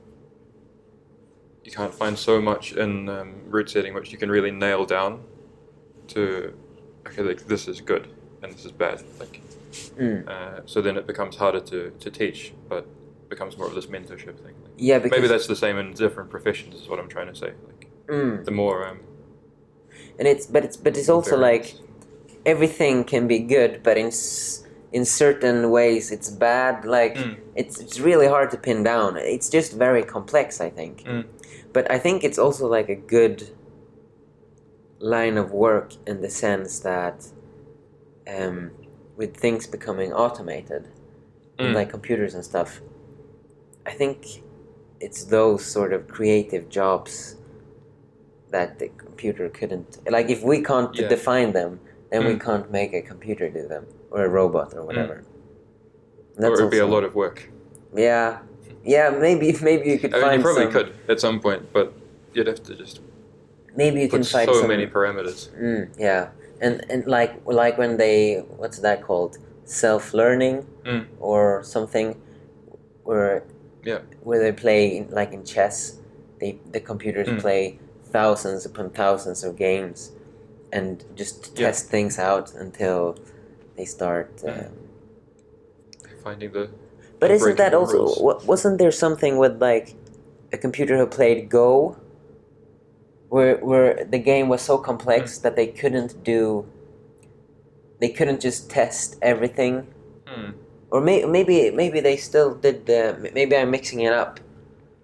you can't find so much in um, root setting which you can really nail down to, okay, like this is good and this is bad. Like, Mm. uh, so then it becomes harder to, to teach, but becomes more of this mentorship thing. Like, Yeah, because maybe that's the same in different professions, is what I'm trying to say. Like, mm. the more, um, and it's but it's but it's also like variance. everything can be good, but in s- in certain ways it's bad. Like Mm. it's it's really hard to pin down. It's just very complex, I think. Mm. But I think it's also like a good line of work in the sense that um, with things becoming automated, Mm. like computers and stuff, I think it's those sort of creative jobs that the computer couldn't. Like if we can't Yeah. define them, then we Mm. can't make a computer do them, or a robot or whatever. And or that's it would be a also- lot of work. Yeah, yeah. Maybe maybe you could I mean, find you probably some. could at some point, but you'd have to just Maybe you can put find so some. many parameters. Mm, yeah, and and like like when they what's that called, self-learning Mm. or something, where Yeah. where they play like in chess, they the computers Mm. play thousands upon thousands of games, and just Yeah. test things out until they start. Mm. Um, Finding the. but the isn't that breaking also rules. wa- wasn't there something with like a computer who played Go, where where the game was so Mm. complex that they couldn't do. They couldn't just test everything, Hmm. or may, maybe maybe they still did. The, maybe I'm mixing it up.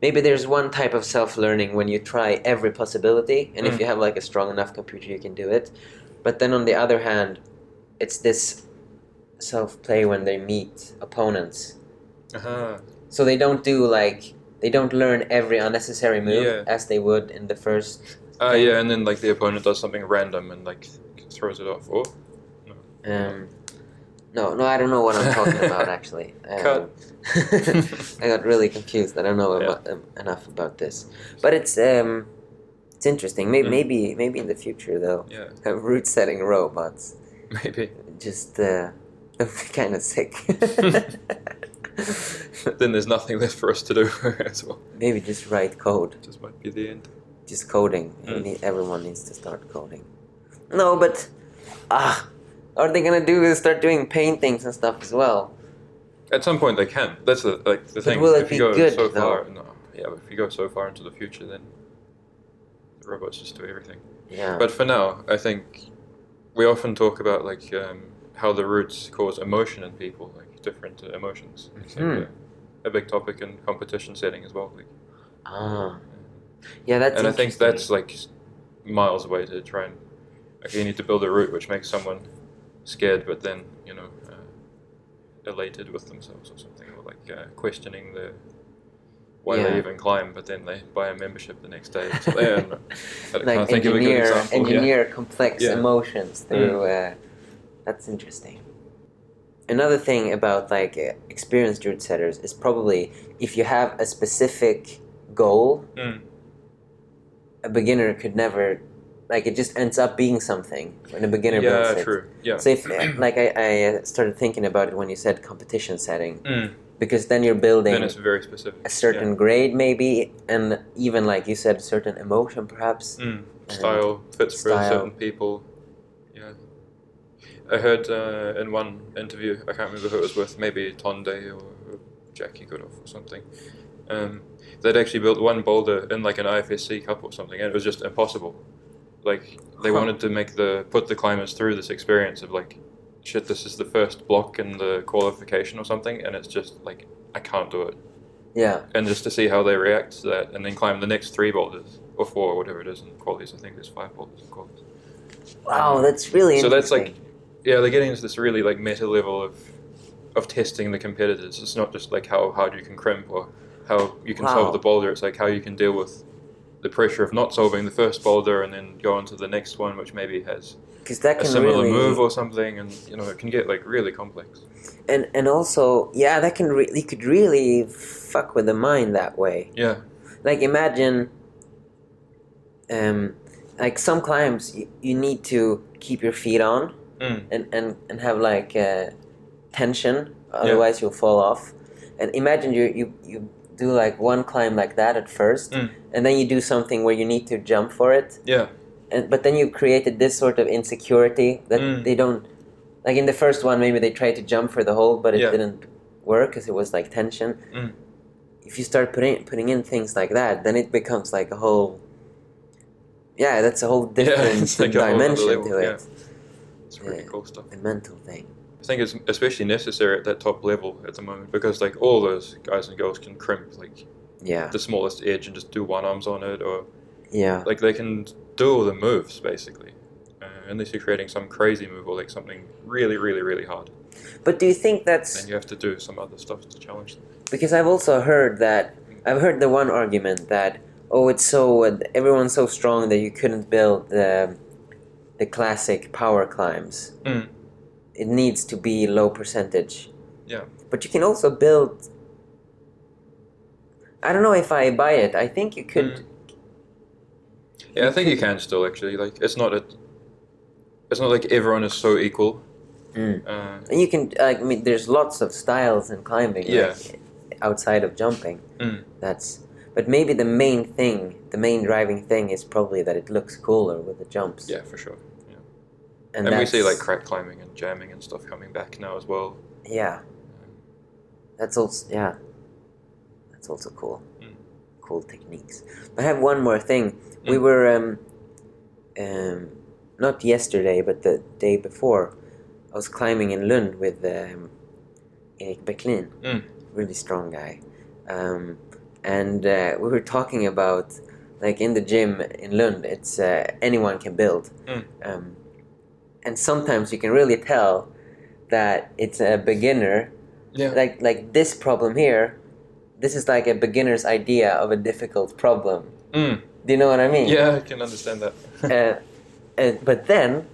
maybe there's one type of self-learning when you try every possibility, and Mm. if you have like a strong enough computer, you can do it. But then on the other hand, it's this self-play when they meet opponents. Uh-huh. So they don't do like they don't learn every unnecessary move Yeah. as they would in the first. Uh, thing. yeah, and then like the opponent does something random and like throws it off. Or Um, no, no, I don't know what I'm talking about actually. Um, Cut. I got really confused. I don't know Yeah. about, um, enough about this, but it's um, it's interesting. Maybe Mm. maybe maybe in the future they'll yeah, have root setting robots. maybe. Just uh, kind of sick. Then there's nothing left for us to do as well. Maybe just write code. Just might be the end. Just coding. We Mm. need, everyone needs to start coding. No, but ah, are they gonna do is start doing paintings and stuff as well? At some point they can. That's the like the But thing. will it if you be go good, so though? far, no, yeah. But if you go so far into the future, then the robots just do everything. Yeah. But for now, I think we often talk about like um, how the roots cause emotion in people, like different uh, emotions. It's like Mhm. a, a big topic in competition setting as well. Like, ah. Yeah, that's and I think interesting. that's like miles away to try and. Okay, you need to build a route which makes someone scared, but then you know uh, elated with themselves or something, or like uh, questioning the why Yeah. they even climb, but then they buy a membership the next day. So, yeah, no, I like can't think of a good engineer example. yeah. engineer complex Yeah. emotions through. Uh, that's interesting. Another thing about like uh, experienced route setters is probably if you have a specific goal, Mm. a beginner could never, like it just ends up being something when a beginner builds Yeah, it. true. Yeah. So if like I, I started thinking about it when you said competition setting, Mm. because then you're building Then it's very specific. a certain grade maybe, and even like you said, a certain emotion perhaps. Yeah. Mm. Style fits for style. certain people. Yeah. I heard uh, in one interview, I can't remember who it was with, maybe Tonde or Jackie Goodoff or something. Um, they'd actually built one boulder in like an I F S C cup or something, and it was just impossible. Like they Huh. wanted to make the put the climbers through this experience of like, shit, this is the first block in the qualification or something, and it's just like I can't do it. Yeah. And just to see how they react to that, and then climb the next three boulders or four or whatever it is in qualities. I think there's five boulders in qualities. Wow, that's really So that's interesting. like, yeah, they're getting into this really like meta level of of testing the competitors. It's not just like how hard you can crimp or how you can Wow. solve the boulder. It's like how you can deal with the pressure of not solving the first boulder and then go on to the next one, which maybe has Because that a can similar really move or something, and you know it can get like really complex. and and also yeah, that can re- you could really fuck with the mind that way. Yeah. Like imagine, um, like some climbs you, you need to keep your feet on Mm. and and and have like uh, tension, otherwise you'll fall off. And imagine you you you do like one climb like that at first, Mm. and then you do something where you need to jump for it. Yeah. And, but then you've created this sort of insecurity that Mm. they don't, like in the first one maybe they tried to jump for the hold but it Yeah. didn't work because it was like tension. Mm. If you start putting putting in things like that, then it becomes like a whole, yeah, that's a whole different it's like a whole other dimension level, to it. yeah. It's pretty Yeah. cool stuff. The mental thing. I think it's especially necessary at that top level at the moment because like all those guys and girls can crimp like Yeah, the smallest edge and just do one arms on it, or yeah. like they can do all the moves basically, uh, unless you're creating some crazy move or like something really, really, really hard. But do you think that's Then you have to do some other stuff to challenge them. because I've also heard that I've heard the one argument that oh it's so uh, everyone's so strong that you couldn't build the the classic power climbs. Mm. It needs to be low percentage. Yeah. But you can also build. I don't know if I buy it. I think you could. Mm. Yeah, I think you can still actually like it's not a. It's not like everyone is so equal. Mm. Uh, And you can. I mean, there's lots of styles in climbing. Yeah. Like, outside of jumping. mm. That's. But maybe the main thing, the main driving thing, is probably that it looks cooler with the jumps. Yeah, for sure. Yeah. And, And, we see that's- like crack climbing and jamming and stuff coming back now as well. Yeah. That's also yeah. That's also cool. Mm. Cool techniques. I have one more thing. We Mm. were um, um, not yesterday, but the day before. I was climbing in Lund with um, Erik Bäcklin, Mm. really strong guy, um, and uh, we were talking about, like in the gym in Lund, it's uh, anyone can build, Mm. um, and sometimes you can really tell that it's a beginner. Yeah. Like like this problem here, this is like a beginner's idea of a difficult problem. Mm. Do you know what I mean? Yeah, I can understand that. uh, and, but then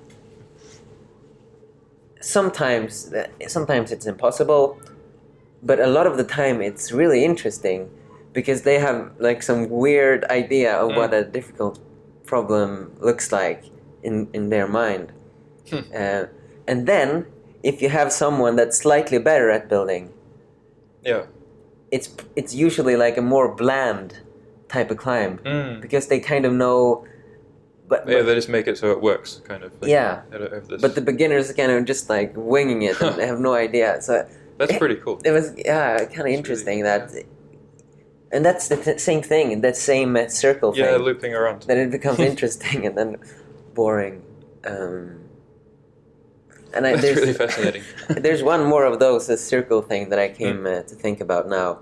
sometimes sometimes it's impossible, but a lot of the time it's really interesting because they have like some weird idea of Mm. what a difficult problem looks like in, in their mind. Hmm. Uh, and then if you have someone that's slightly better at building, Yeah. it's it's usually like a more bland type of climb Mm. because they kind of know. But, Yeah, but they just make it so it works, kind of. Like, Yeah. I don't have this. but the beginners kind of just like winging it and they have no idea. So That's it- pretty cool. it was yeah kind of really- interesting that, and that's the th- same thing, that same uh, circle Yeah, thing. looping around. Then it becomes interesting and then boring. Um, and I, That's there's, really fascinating. there's one more of those, a circle thing that I came Hmm. uh, to think about now.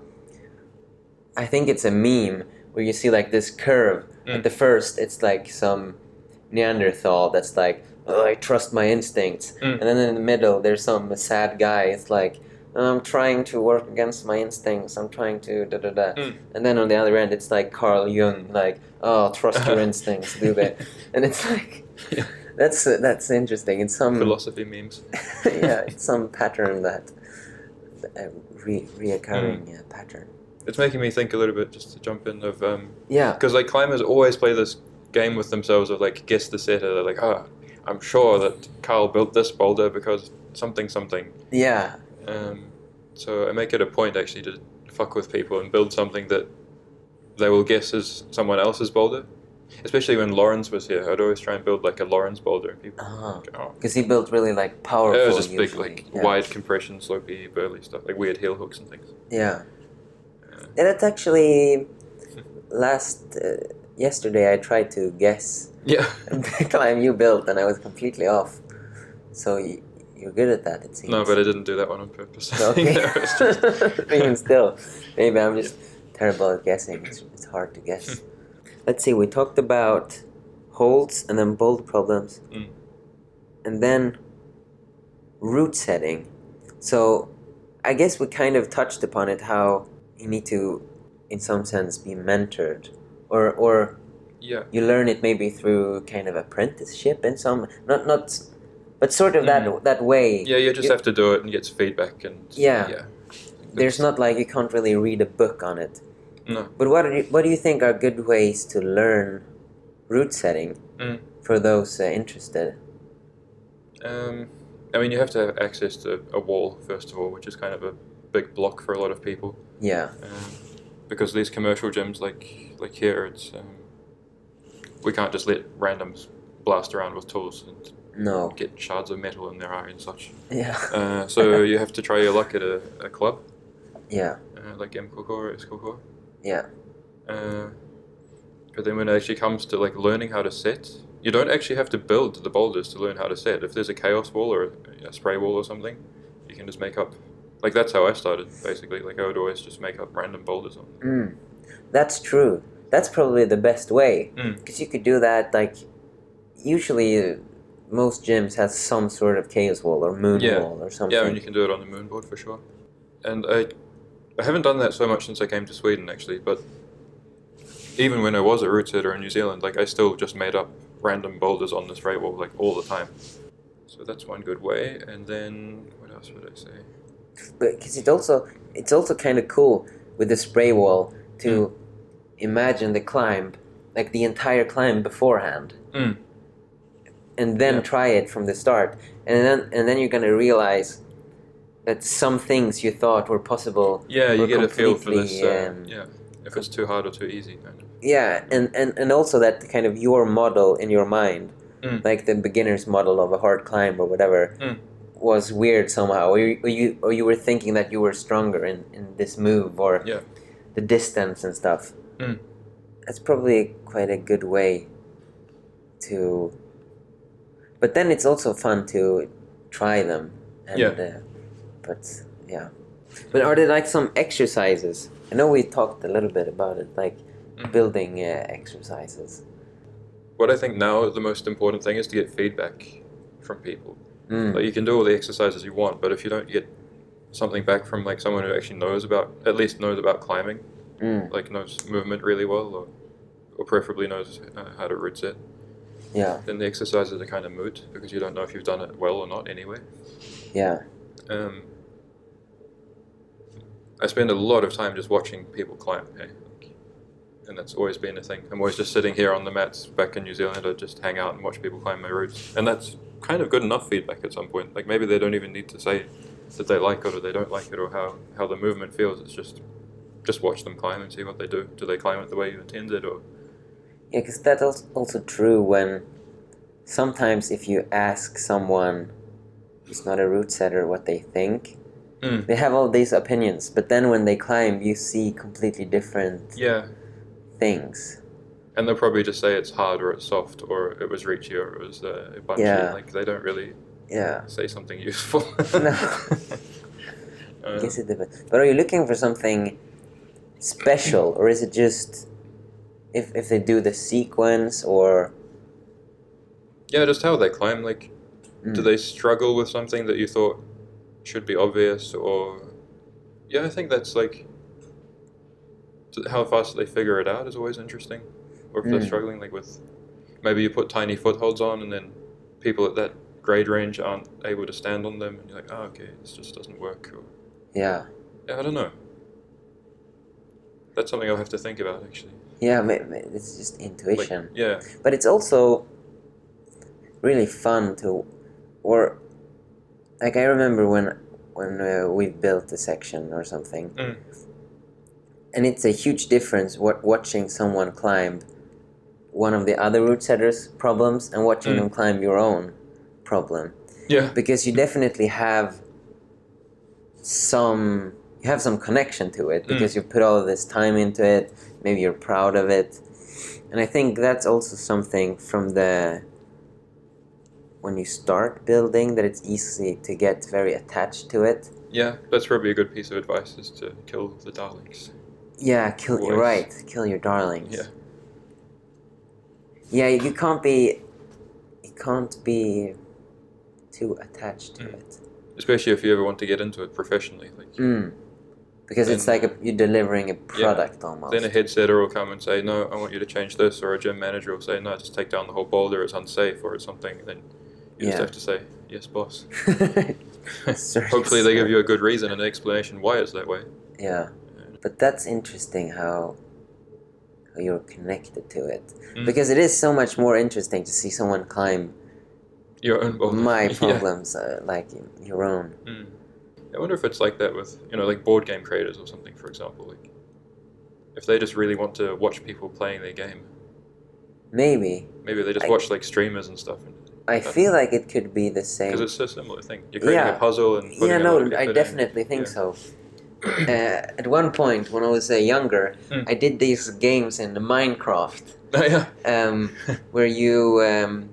I think it's a meme where you see like this curve. Mm. At the first, it's like some Neanderthal that's like, oh, I trust my instincts. Mm. And then in the middle, there's some sad guy. It's like, I'm trying to work against my instincts. I'm trying to da da da. Mm. And then on the other end, it's like Carl Jung, like, oh, trust your instincts, do that. And it's like, Yeah. that's uh, that's interesting. It's some Philosophy memes. yeah, it's some pattern that a re- reoccurring Mm. uh, pattern. It's making me think a little bit, just to jump in, of um, Yeah, because like climbers always play this game with themselves of like guess the setter. They're like, ah, I'm sure that Carl built this boulder because something something. yeah, Um, so I make it a point actually to fuck with people and build something that they will guess is someone else's boulder. Especially when Lawrence was here, I'd always try and build like a Lawrence boulder, and people. uh go, oh. because he built really like powerful. It was just big, usually. like yeah. wide compression, slopey, burly stuff, like weird heel hooks and things. Yeah, and that's actually last uh, yesterday. I tried to guess Yeah. the climb you built, and I was completely off. So you, you're good at that, it seems. No, but I didn't do that one on purpose. Okay. That was just- Even still, maybe I'm just terrible at guessing. It's, it's hard to guess. Let's see. We talked about holds and then bold problems, Mm. and then route setting. So I guess we kind of touched upon it, how you need to, in some sense, be mentored, or or Yeah. you learn it maybe through kind of apprenticeship in some not not, but sort of Mm. that that way. Yeah, you just You- have to do it and get feedback and Yeah. yeah. There's not like you can't really read a book on it. No. But what do you, what do you think are good ways to learn route setting Mm. for those uh, interested? Um, I mean, you have to have access to a wall first of all, which is kind of a big block for a lot of people. Yeah, Um, because these commercial gyms, like like here, it's um, we can't just let randoms blast around with tools and no, get shards of metal in their eye and such. yeah, Uh, so you have to try your luck at a, a club, yeah, uh, like M Koko or S Koko. yeah, Uh, but then when it actually comes to like learning how to set, you don't actually have to build the boulders to learn how to set. If there's a chaos wall or a, a spray wall or something, you can just make up. Like that's how I started basically. Like I would always just make up random boulders on. mm. That's true. That's probably the best way, Mm. because you could do that. Like usually, uh, most gyms have some sort of chaos wall or moon Yeah. wall or something. Yeah, and you can do it on the moonboard for sure. And I, I haven't done that so much since I came to Sweden actually. But even when I was a route setter in New Zealand, like I still just made up random boulders on the spray wall like all the time. So that's one good way. And then what else would I say? But because it also it's also kind of cool with the spray wall to Mm. imagine the climb, like the entire climb beforehand, Mm. and then Yeah. try it from the start, and then and then you're gonna realize that some things you thought were possible. Yeah, you were get a feel for this. completely, Uh, um, yeah, if it's too hard or too easy, kind of. Yeah, and, and, and also that kind of your model in your mind, Mm. like the beginner's model of a hard climb or whatever, Mm. was weird somehow, or you, or you or you were thinking that you were stronger in, in this move or Yeah. the distance and stuff. Mm. That's probably quite a good way to. But then it's also fun to try them. And, Yeah. Uh, but yeah. But are there like some exercises I know we talked a little bit about it, like Mhm. building uh, exercises. What I think now the most important thing is to get feedback from people. Mm. Like you can do all the exercises you want, but if you don't get something back from like someone who actually knows about, at least knows about climbing, Mm. like knows movement really well, or, or preferably knows uh, how to root set, Yeah, then the exercises are kind of moot because you don't know if you've done it well or not anyway. yeah, Um, I spend a lot of time just watching people climb, hey? And that's always been a thing. I'm always just sitting here on the mats back in New Zealand. I just hang out and watch people climb my routes, and that's kind of good enough feedback at some point. Like maybe they don't even need to say that they like it or they don't like it or how, how the movement feels. It's just just watch them climb and see what they do. Do they climb it the way you intended, or yeah. Because that's also true when sometimes if you ask someone who's not a root setter what they think, mm. they have all these opinions, but then when they climb, you see completely different yeah. things. And they'll probably just say it's hard or it's soft or it was reachy or it was uh, bunchy. Yeah. Like they don't really Yeah. say something useful. No. uh, I guess it depends. But are you looking for something special, or is it just if if they do the sequence or? yeah, just how they climb. Like, Mm. do they struggle with something that you thought should be obvious, or yeah, I think that's like t- how fast they figure it out is always interesting. Or if they're Mm. struggling, like with maybe you put tiny footholds on, and then people at that grade range aren't able to stand on them, and you're like, oh, okay, this just doesn't work. Or, Yeah. yeah, I don't know. That's something I'll have to think about actually. Yeah, ma- ma- it's just Like, intuition. yeah. But it's also really fun to, or like I remember when when uh, we built a section or something, Mm. and it's a huge difference what watching someone climb one of the other root setters' problems and watching Mm. them climb your own problem, Yeah. because you definitely have some you have some connection to it because you put all of this time into it. Maybe you're proud of it, and I think that's also something from the when you start building that it's easy to get very attached to it. Yeah, that's probably a good piece of advice is to kill the darlings. Yeah, kill. You're Always. right. Kill your darlings. Yeah. Yeah, you can't be. You can't be too attached to Mm. it. Especially if you ever want to get into it professionally. Like, Mm. Because it's Then, like a, you're delivering a product almost. then a head setter will come and say, no, I want you to change this, or a gym manager will say, no, just take down the whole boulder, it's unsafe, or it's something. Then you just Yeah. have to say, yes, boss. Sorry, Hopefully they sir. give you a good reason and an explanation why it's that way. Yeah, but that's interesting how how you're connected to it, Mm. because it is so much more interesting to see someone climb Your own boulder. my Yeah. problems uh, like your own. Mm. I wonder if it's like that with, you know, like board game creators or something, for example. Like, if they just really want to watch people playing their game, Maybe maybe they just I- watch like streamers and stuff. I feel like it could be the same. Because it's a similar thing. You're creating Yeah. a puzzle and putting Yeah, a no, lot of I effort in. definitely think Yeah. so. Uh, at one point, when I was uh, younger, Mm. I did these games in the Minecraft, Oh, yeah. um, where you, um,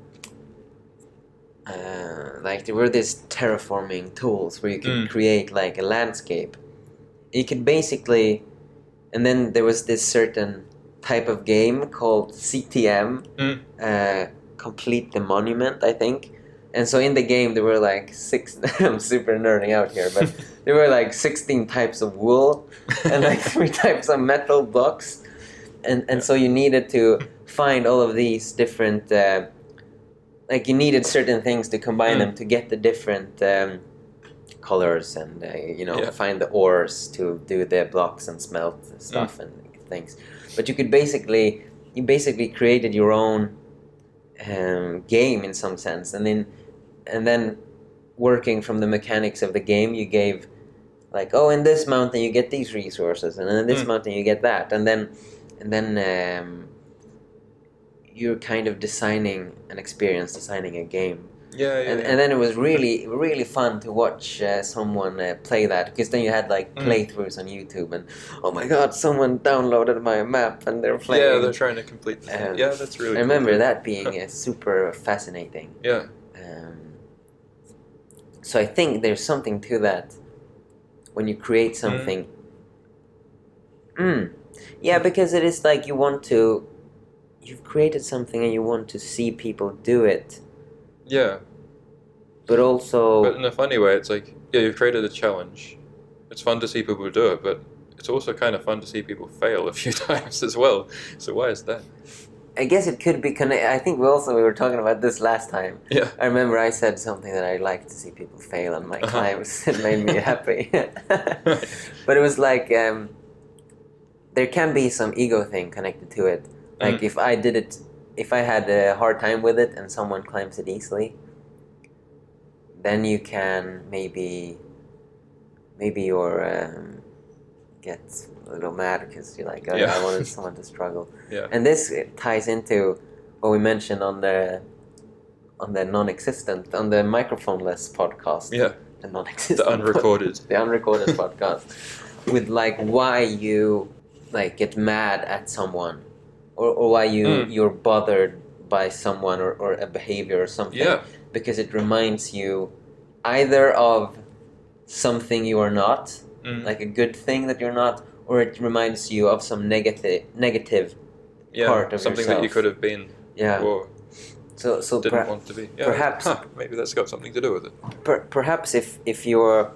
uh, like, there were these terraforming tools where you could Mm. create like a landscape. You could basically, and then there was this certain type of game called C T M, Mm. uh, Complete the Monument, I think. And so in the game there were like six. I'm super nerding out here, but there were like sixteen types of wool and like three types of metal blocks, and and so you needed to find all of these different. Uh, like you needed certain things to combine Mm. them to get the different um, colors and uh, you know Yeah. find the ores to do the blocks and smelt stuff and things. But you could basically you basically created your own um, game in some sense, and then and then working from the mechanics of the game, you gave like, oh, in this mountain you get these resources, and in this Mm. mountain you get that, and then and then um, you're kind of designing an experience, designing a game. Yeah, yeah. And, yeah. and then it was really, really fun to watch uh, someone uh, play that, because then you had like Mm. playthroughs on YouTube, and oh my god, someone downloaded my map and they're playing. Yeah, they're trying to complete the thing. Um, Yeah, that's really I cool. remember that being uh, super fascinating. Yeah. Um, so I think there's something to that when you create something Mm. Yeah, because it is like you want to, you've created something and you want to see people do it, Yeah, but also, but in a funny way, it's like, yeah, you've created a challenge. It's fun to see people do it, but it's also kind of fun to see people fail a few times as well. So why is that? I guess it could be connected. I think we also we were talking about this last time. Yeah. I remember I said something that I like to see people fail on my Uh-huh. climbs. It made me happy. But it was like um, there can be some ego thing connected to it. Like Mm. if I did it, if I had a hard time with it and someone climbs it easily, then you can maybe, maybe you're um, get a little mad because you're like, oh, Yeah. I wanted someone to struggle. Yeah. And this ties into what we mentioned on the on the non-existent, on the microphone-less podcast. Yeah. The non-existent. The unrecorded. the unrecorded podcast. With like why you like get mad at someone, or, or why you Mm. you're bothered by someone or, or a behavior or something. Yeah. Because it reminds you either of something you are not, Mm. like a good thing that you're not, or it reminds you of some negative negative Yeah. part of Something that you yourself. could have been Yeah. or So so didn't per- want to be. Yeah. perhaps- Huh, maybe that's got something to do with it. per- perhaps if if you're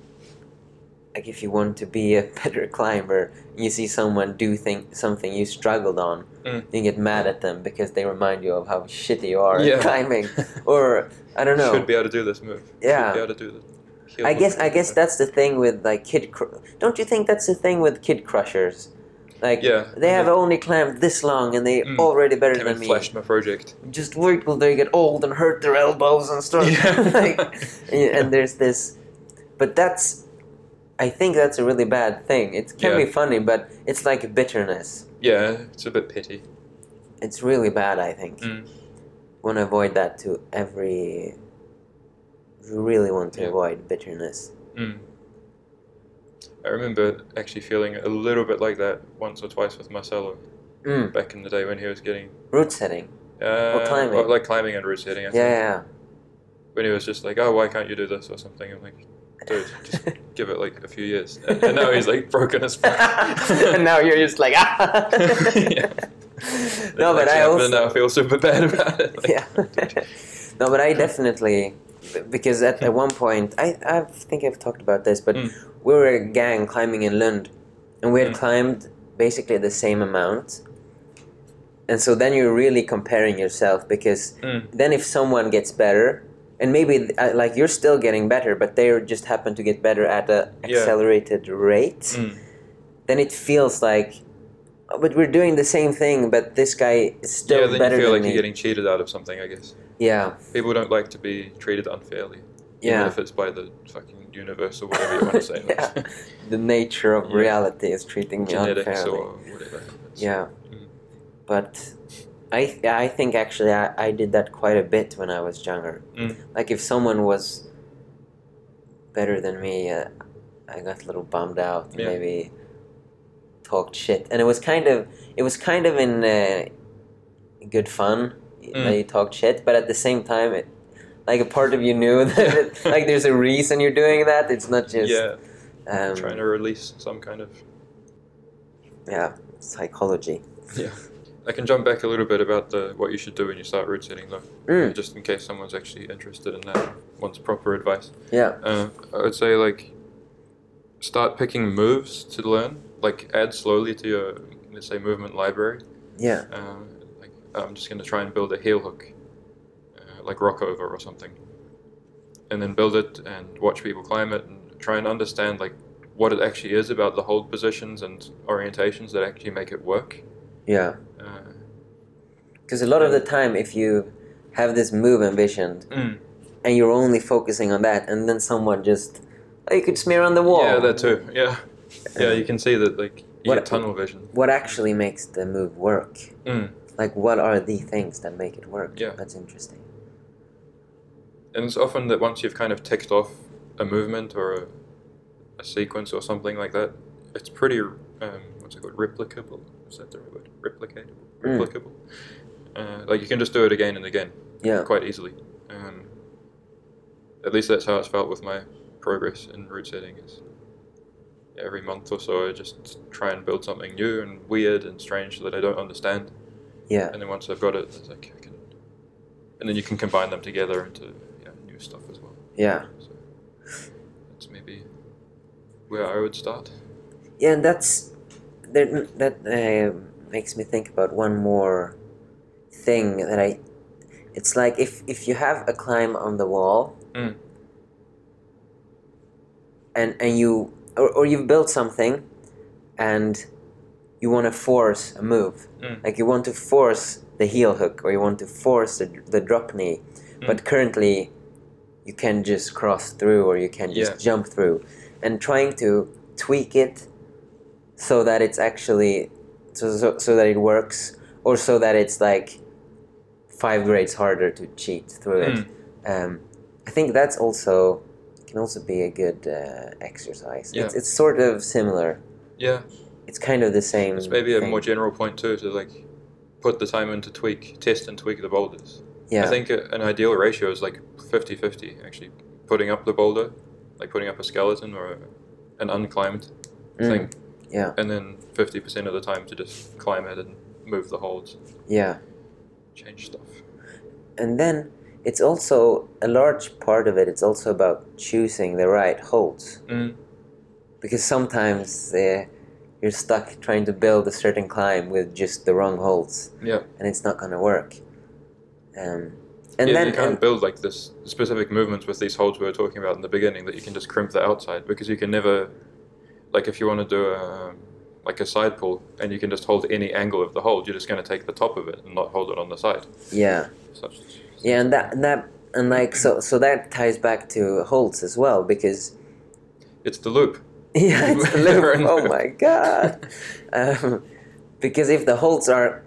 like if you want to be a better climber, you see someone do think something you struggled on, Mm. you get mad at them because they remind you of how shitty you are Yeah. at climbing, or I don't know. Should be able to do this move. Yeah. Should be able to do the heel I guess hook. I guess that's the thing with like kid. Cr- don't you think that's the thing with kid crushers? Like Yeah. they have only climbed this long and they're Mm. already better Came than and me. flashed my project. Just wait till they get old and hurt their elbows and stuff. Yeah. like, and, and there's this, but that's, I think that's a really bad thing. It can Yeah. be funny, but it's like bitterness. Yeah, it's a bit pity. It's really bad. I think. Mm. Want to avoid that to every. You really want to Yeah. avoid bitterness. Mm. I remember actually feeling a little bit like that once or twice with Marcelo Mm. back in the day when he was getting Root setting. uh, climbing. or like climbing and route setting. I Yeah, think. yeah. When he was just like, "Oh, why can't you do this?" or something. I'm like, "Dude, just give it like a few years." And, and now he's like broken as fuck. And now you're just like ah. Yeah. No, but Actually I happened also and now I feel super bad about it. Like, yeah. No, but I definitely because at, at one point I I think I've talked about this, but Mm. we were a gang climbing in Lund, and we had Mm. climbed basically the same amount. And so then you're really comparing yourself because Mm. then if someone gets better, and maybe uh, like you're still getting better, but they just happen to get better at a Yeah. accelerated rate, Mm. then it feels like, oh, but we're doing the same thing, but this guy is still Yeah, then better you feel than like me. you're getting cheated out of something, I guess. Yeah, People don't like to be treated unfairly. yeah. Even if it's by the fucking universe or whatever you want to say. Like, Yeah. The nature of Yeah. reality is treating me genetics unfairly. or whatever. It's- Yeah, Mm. but I I think actually I, I did that quite a bit when I was younger. Mm. Like if someone was better than me, uh, I got a little bummed out. Yeah. Maybe talked shit, and it was kind of it was kind of in uh, good fun Mm. that you talked shit, but at the same time, it like a part of you knew that it, like there's a reason you're doing that. It's not just Yeah, um, trying to release some kind of. yeah psychology. Yeah. I can jump back a little bit about the what you should do when you start route setting, though, Mm. just in case someone's actually interested in that, wants proper advice. Yeah. Uh, I would say like start picking moves to learn. Like add slowly to your let's say movement library. Yeah. Uh, like I'm just gonna try and build a heel hook, uh, like rock over or something, and then build it and watch people climb it and try and understand like what it actually is about the hold positions and orientations that actually make it work. Yeah. Uh, Because a lot of the time, if you have this move envisioned mm. and you're only focusing on that, and then someone just, oh, you could smear on the wall. Yeah, that too. Yeah, yeah. You can see that like you What- get tunnel vision. What actually makes the move work? Mm. Like, what are the things that make it work? Yeah. That's interesting. And it's often that once you've kind of ticked off a movement or a, a sequence or something like that, it's pretty um, what's it called? Replicable. Is that the right word? Replicatable. Mm. Replicable. Uh, like you can just do it again and again, Yeah. quite easily. Um, at least that's how it's felt with my progress in route setting. Is every month or so, I just try and build something new and weird and strange that I don't understand. Yeah. And then once I've got it, it's like I can, and then you can combine them together into yeah, new stuff as well. Yeah. So that's maybe where I would start. Yeah, and that's that. That uh, makes me think about one more thing that I. It's like if if you have a climb on the wall, Mm. and and you or, or you've built something, and you want to force a move, Mm. like you want to force the heel hook or you want to force the the drop knee, Mm. but currently you can just cross through or you can just Yeah. jump through, and trying to tweak it so that it's actually so, so, so that it works, or so that it's like five grades harder to cheat through it. Mm. Um, I think that's also can also be a good uh, exercise. Yeah. It's, it's sort of similar. Yeah, It's kind of the same. it's maybe a thing. more general point too, to like put the time in to tweak, test and tweak the boulders. Yeah. I think a, an ideal ratio is like fifty-fifty, actually, putting up the boulder, like putting up a skeleton or a, an unclimbed Mm. thing, Yeah. and then fifty percent of the time to just climb it and move the holds, Yeah. change stuff. And then it's also a large part of it. It's also about choosing the right holds, Mm. because sometimes uh, you're stuck trying to build a certain climb with just the wrong holds, Yeah. and it's not going to work. Um, and yeah, then you can't and- build like this specific movements with these holds we were talking about in the beginning that you can just crimp the outside, because you can never, like if you want to do a like a side pull and you can just hold any angle of the hold, you're just going to take the top of it and not hold it on the side. yeah. Such, Yeah, and that and that and like so so that ties back to holds as well, because it's the loop. yeah, it's the Never loop. Oh know. my god! Um, because if the holds are,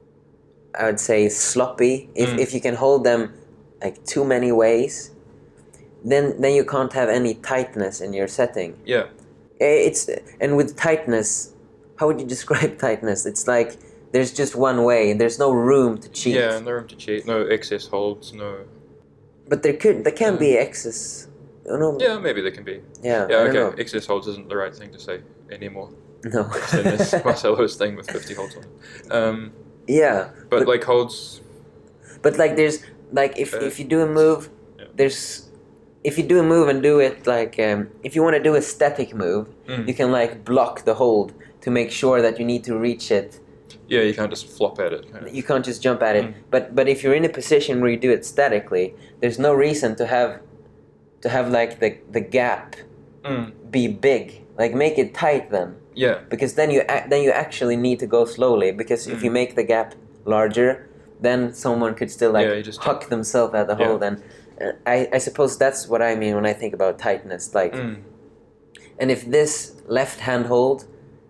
I would say, sloppy, if Mm. if you can hold them like too many ways, then then you can't have any tightness in your setting. Yeah. Eh, It's and with tightness, how would you describe tightness? It's like there's just one way. There's no room to cheat. Yeah, no room to cheat, no excess holds, no. But there could there can Mm. be excess. Oh, no. Yeah, maybe there can be. Yeah. Yeah, I okay. don't Excess holds isn't the right thing to say anymore. know. No. It's in this Marcelo's thing with fifty holds on it. Um, Yeah. but, But- like holds, But like there's like if, Uh, if you do a move, yeah. there's if you do a move and do it like um, if you want to do a static move, Mm. you can like block the hold to make sure that you need to reach it. yeah, you can't just flop at it. Kind of. You can't just jump at it. Mm. But but if you're in a position where you do it statically, there's no reason to have to have like the the gap Mm. be big. Like make it tight then, Yeah, because then you ac- then you actually need to go slowly, because if Mm. you make the gap larger, then someone could still like Yeah, you just huck themselves at the Yeah. hold. And uh, I I suppose that's what I mean when I think about tightness. Like, mm. and if this left hand hold,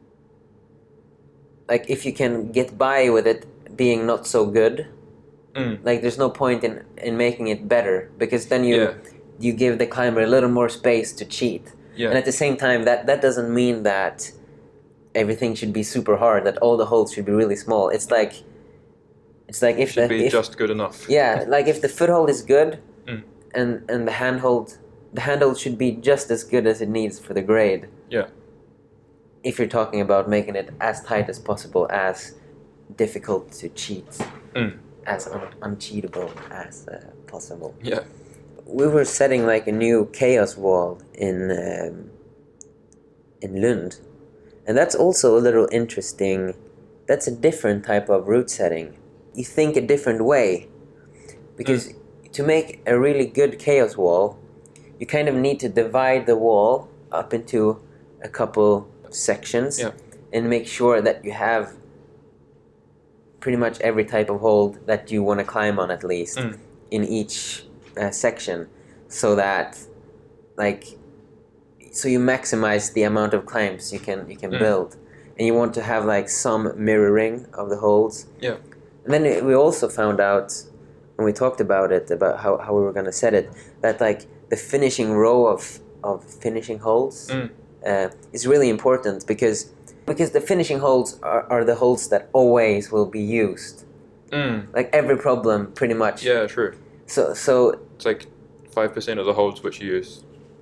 like if you can get by with it being not so good, Mm. like there's no point in in making it better, because then you Yeah. you give the climber a little more space to cheat. Yeah. And at the same time, that that doesn't mean that everything should be super hard, that all the holds should be really small. It's like it's like if Should the be if, just good enough. yeah, like if the foothold is good, Mm. and and the handhold the handhold should be just as good as it needs for the grade. Yeah. If you're talking about making it as tight as possible, as difficult to cheat, Mm. as un- uncheatable as uh, possible. Yeah. We were setting like a new chaos wall in um, in Lund, and that's also a little interesting. That's a different type of route setting. You think a different way, because to make a really good chaos wall, you kind of need to divide the wall up into a couple sections, Yeah. and make sure that you have pretty much every type of hold that you want to climb on, at least Mm. in each uh, section, so that like so you maximize the amount of climbs you can you can Mm. build, and you want to have like some mirroring of the holds. Yeah. And then we also found out when we talked about it, about how, how we were going to set it, that like the finishing row of of finishing holds Mm. uh, is really important, because because the finishing holds are, are the holds that always will be used, Mm. like every problem pretty much. Yeah, true. So so It's like five percent of the holds which you use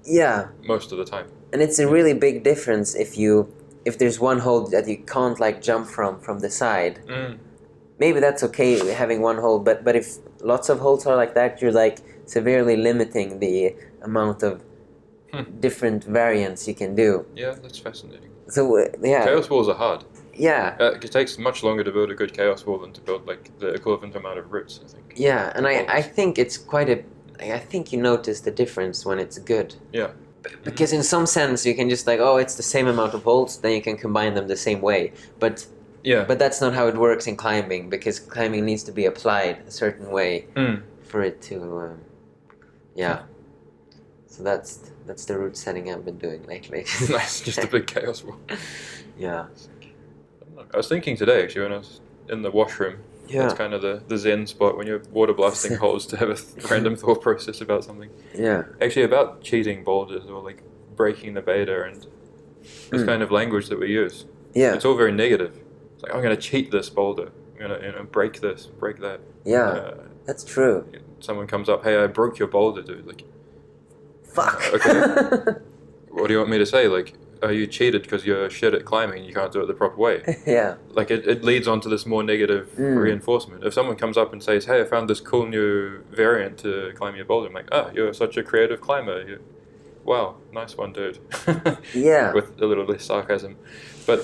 Yeah, most of the time. and it's a really big difference if you if there's one hold that you can't like jump from from the side. Mm. Maybe that's okay having one hold, but but if lots of holds are like that, you're like severely limiting the amount of Hmm. different variants you can do. Yeah, that's fascinating. So uh, yeah, Chaos walls are hard. yeah, Uh, it takes much longer to build a good chaos wall than to build like the equivalent amount of roots, I think. yeah, and I I Walls. think it's quite a. I think you notice the difference when it's good. Yeah. Because in some sense you can just like, oh, it's the same amount of holds, then you can combine them the same way. But Yeah. but that's not how it works in climbing, because climbing needs to be applied a certain way Mm. for it to, um, yeah. So that's that's the route setting I've been doing lately. Nice, just a big chaos wall. Yeah. I was thinking today, actually, when I was in the washroom. Yeah. That's kind of the, the zen spot when you're water blasting holes to have a th- random thought process about something. Yeah. Actually, about cheating boulders or like breaking the beta and this Mm. kind of language that we use. Yeah. It's all very negative. It's like, I'm going to cheat this boulder. I'm going to you know, break this, break that. Yeah. Uh, That's true. someone comes up, hey, I broke your boulder, dude. Like, Fuck. Okay. what do you want me to say? Like, oh, you cheated because you're shit at climbing and you can't do it the proper way. Yeah. Like, it, it leads on to this more negative Mm. reinforcement. If someone comes up and says, hey, I found this cool new variant to climb your boulder, I'm like, oh, you're such a creative climber. You, wow, nice one, dude. Yeah. With a little less sarcasm. But,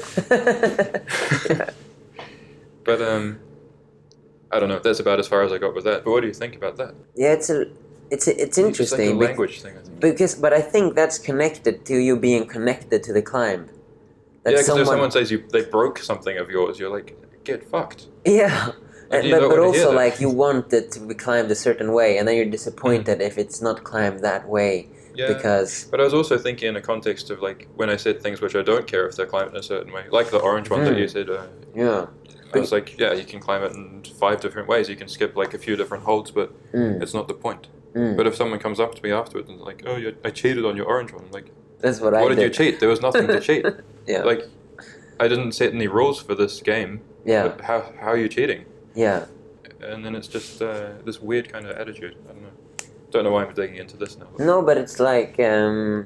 Yeah. but um, I don't know. That's about as far as I got with that. But what do you think about that? Yeah, it's a, it's a, it's It's like interesting. a bec- language thing, I think. Because, but I think that's connected to you being connected to the climb. That Yeah, because if someone says you they broke something of yours, you're like, get fucked. Yeah, Like, and, you but, don't but wanna hear also that. like you want it to be climbed a certain way, and then you're disappointed if it's not climbed that way Yeah. because But I was also thinking in a context of like when I said things which I don't care if they're climbed in a certain way, like the orange one that Mm. you said. Uh, yeah, I was like, yeah, you can climb it in five different ways. You can skip like a few different holds, but mm, it's not the point. mm. But if someone comes up to me afterwards and is like, oh, you I cheated on your orange one, I'm like, That's what I what did did. you cheat? There was nothing to cheat. Yeah, Like, I didn't set any rules for this game. yeah, But how how are you cheating? yeah, And then it's just uh, this weird kind of attitude. I don't know. Don't know why I'm digging into this now. but- no, but it's like um,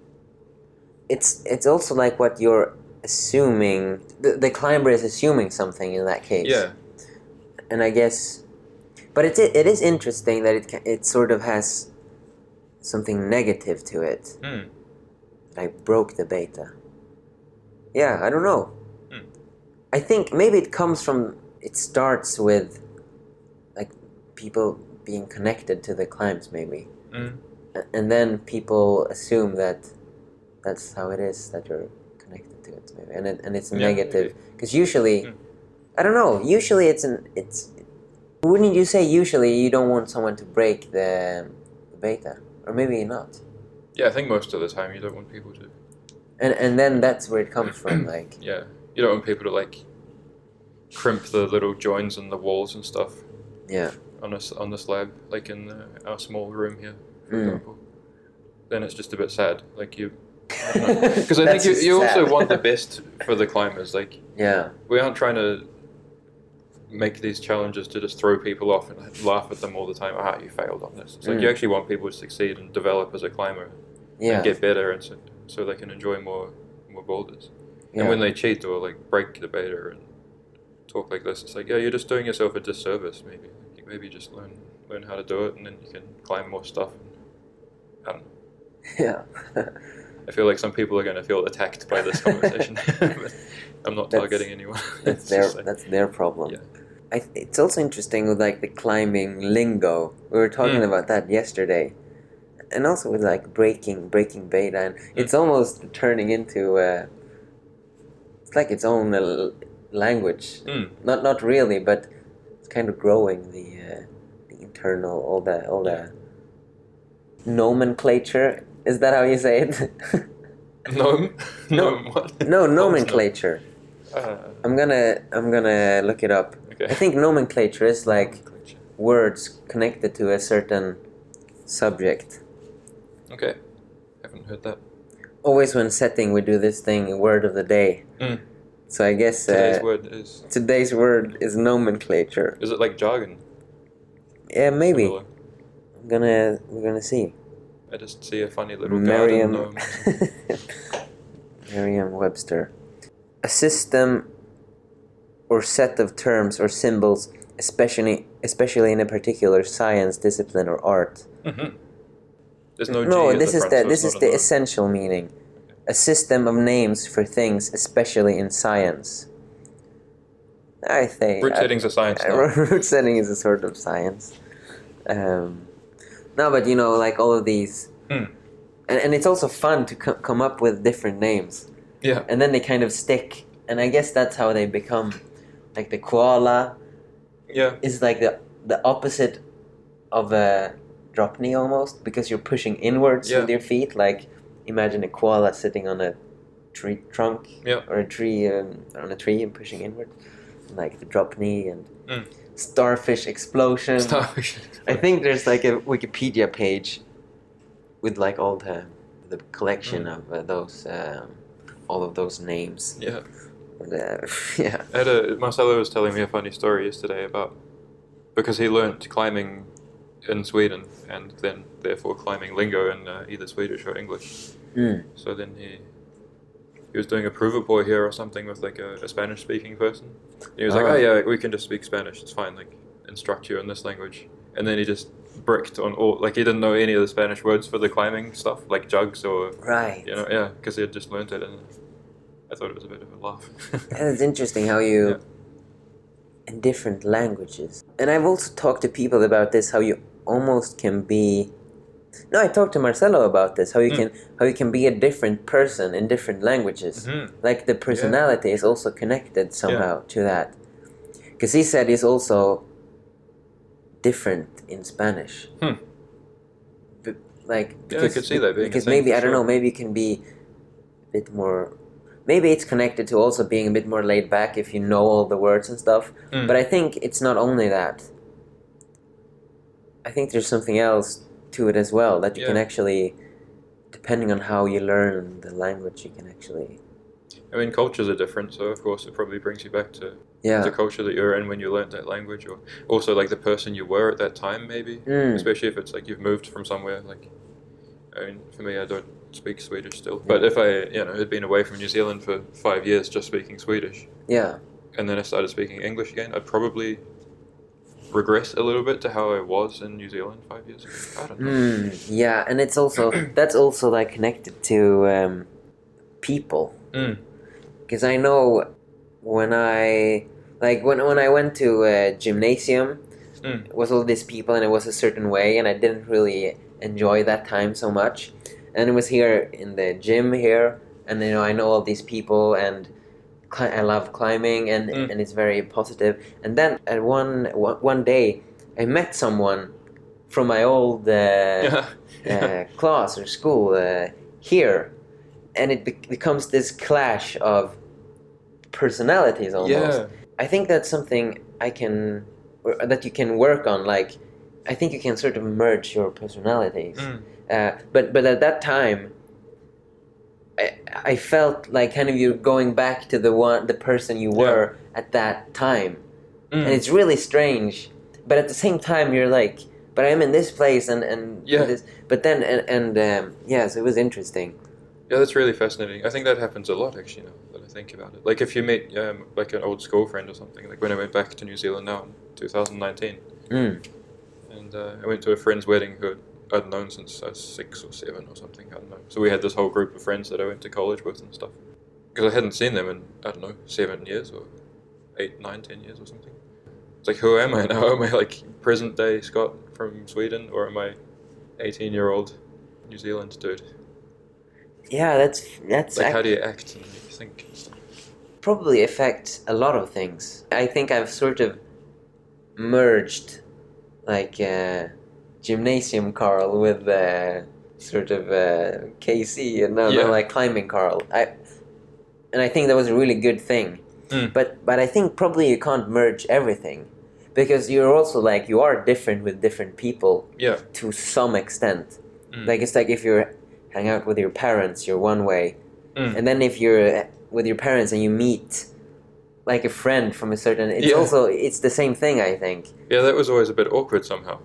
it's it's also like what you're assuming. The, the climber is assuming something in that case. Yeah. And I guess, but it it is interesting that it ca- it sort of has something negative to it. Hmm. I broke the beta. Yeah, I don't know. Hmm. I think maybe it comes from. It starts with, like, people being connected to the climbs, maybe, Mm. A- and then people assume that that's how it is, that you're connected to it, maybe, and it, and it's Yeah, negative because usually, Hmm. I don't know. Usually, it's an it's. Wouldn't you say usually you don't want someone to break the, the beta, or maybe not? Yeah, I think most of the time you don't want people to. And and then that's where it comes from, like. Yeah, you don't want people to like crimp the little joins in the walls and stuff Yeah. on a s on the slab, like in uh, our small room here, for Mm. example. Then it's just a bit sad, like you. Because I think That's you, just you also sad. want the best for the climbers. Like Yeah. we aren't trying to make these challenges to just throw people off and laugh at them all the time. Ah, you failed on this. It's like Mm. you actually want people to succeed and develop as a climber Yeah. and get better, and so, so they can enjoy more more boulders. Yeah. And when they cheat or like break the beta and talk like this, it's like, yeah, you're just doing yourself a disservice. Maybe like, maybe just learn learn how to do it, and then you can climb more stuff. I don't know. Yeah. I feel like some people are going to feel attacked by this conversation. But I'm not That's- targeting anyone. That's It's their just like- that's their problem. Yeah. I th- it's also interesting with like the climbing lingo. We were talking Mm. about that yesterday, and also with like breaking breaking beta, and Mm. it's almost turning into uh, it's like its own uh, l- language. Mm. Not not really, but it's kind of growing the uh, the internal all the all the nomenclature. Is that how you say it? Gnome? No. Gnome what? No, Gnome. nomenclature. Uh, I'm gonna I'm gonna look it up. okay. I think nomenclature is like Nomenclature. words connected to a certain subject. Okay. Haven't heard that. Always when setting, we do this thing, word of the day. Mm. So I guess Today's uh, word is. today's word is nomenclature. Is it like jargon? Yeah, maybe. Similar. I'm gonna we're gonna see. I just see a funny little Merriam. garden gnome. Merriam-Webster. A system or set of terms or symbols, especially especially in a particular science, discipline, or art. Mm-hmm. There's no G No, at this the is front, the so this it's is not a the gnome. essential meaning. A system of names for things, especially in science. I think Root I- setting's a science I- now. root setting is a sort of science. Um, no, but you know, like all of these, Mm. and and it's also fun to co- come up with different names, Yeah. and then they kind of stick. And I guess that's how they become. Like the koala Yeah. is like the the opposite of a drop knee almost, because you're pushing inwards Yeah. with your feet. Like imagine a koala sitting on a tree trunk Yeah. or a tree um, on a tree and pushing inward, like the drop knee and Mm. starfish explosion. Starfish. I think there's like a Wikipedia page with like all the the collection Mm. of uh, those um, all of those names. Yeah. Uh, yeah. I had a, Marcelo was telling me a funny story yesterday about because he learnt climbing in Sweden and then therefore climbing lingo in uh, either Swedish or English. Mm. So then he he was doing a prover boy here or something with like a, a Spanish speaking person. And he was like, Ah. oh yeah, we can just speak Spanish. It's fine. Like instruct you in this language. And then he just bricked on all like he didn't know any of the Spanish words for the climbing stuff like jugs or Right. you know yeah because he had just learnt it and I thought it was a bit of a laugh. And it's interesting how you, Yeah. in different languages. And I've also talked to people about this, how you almost can be. No, I talked to Marcelo about this, how you Mm. can how you can be a different person in different languages. Mhm. Like the personality is also connected somehow to that. Because he said he's also different in Spanish. Hmm. B- like Yeah, I because, could see that being a because thing maybe for I don't sure. know, maybe you can be a bit more. Maybe it's connected to also being a bit more laid back if you know all the words and stuff. Mm. But I think it's not only that. I think there's something else to it as well, that you can Yeah. actually, depending on how you learn the language, you can actually. I mean, cultures are different, so of course it probably brings you back to Yeah. the culture that you're in when you learnt that language, or also like the person you were at that time, maybe. Mm. Especially if it's like you've moved from somewhere. Like, I mean, for me, I don't speak Swedish still, but if I, you know, had been away from New Zealand for five years just speaking Swedish, Yeah. and then I started speaking English again, I'd probably regress a little bit to how I was in New Zealand five years ago. I don't know. Mm, yeah, and it's also that's also like connected to um, people. Mm. Because I know when I like when when I went to a gymnasium, Mm. it was all these people and it was a certain way, and I didn't really enjoy that time so much. And it was here in the gym here, and you know I know all these people, and cli- I love climbing, and Mm. and it's very positive. And then at one one one day, I met someone from my old uh, Yeah. uh, class or school uh, here, and it be- becomes this clash of personalities almost. Yeah. I think that's something I can, or that you can work on. Like, I think you can sort of merge your personalities. Mm. Uh, but but at that time, I I felt like kind of you're going back to the one the person you were at that time, Mm. and it's really strange. But at the same time, you're like, but I'm in this place, and and Yeah. this. But then and and um, yeah, so it was interesting. Yeah, that's really fascinating. I think that happens a lot, actually, now that I think about it. Like, if you meet, um, like, an old school friend or something, like when I went back to New Zealand now in two thousand nineteen, Mm. and uh, I went to a friend's wedding who I'd known since I was six or seven or something, I don't know. So we had this whole group of friends that I went to college with and stuff. Because I hadn't seen them in, I don't know, seven years or eight, nine, ten years or something. It's like, who am I now? Am I, like, present-day Scott from Sweden, or am I eighteen-year-old New Zealand dude? Yeah, that's that's Like, ac- how do you act and think and stuff? probably affects a lot of things. I think I've sort of merged, like uh, gymnasium Carl with uh, sort of uh, K C, and no, Yeah. no, like climbing Carl. I and I think that was a really good thing. Mm. But but I think probably you can't merge everything, because you're also like you are different with different people Yeah. to some extent. Mm. Like it's like if you hang out with your parents, you're one way. Mm. And then if you're with your parents and you meet like a friend from a certain, it's Yeah. also it's the same thing, I think. Yeah, that was always a bit awkward somehow.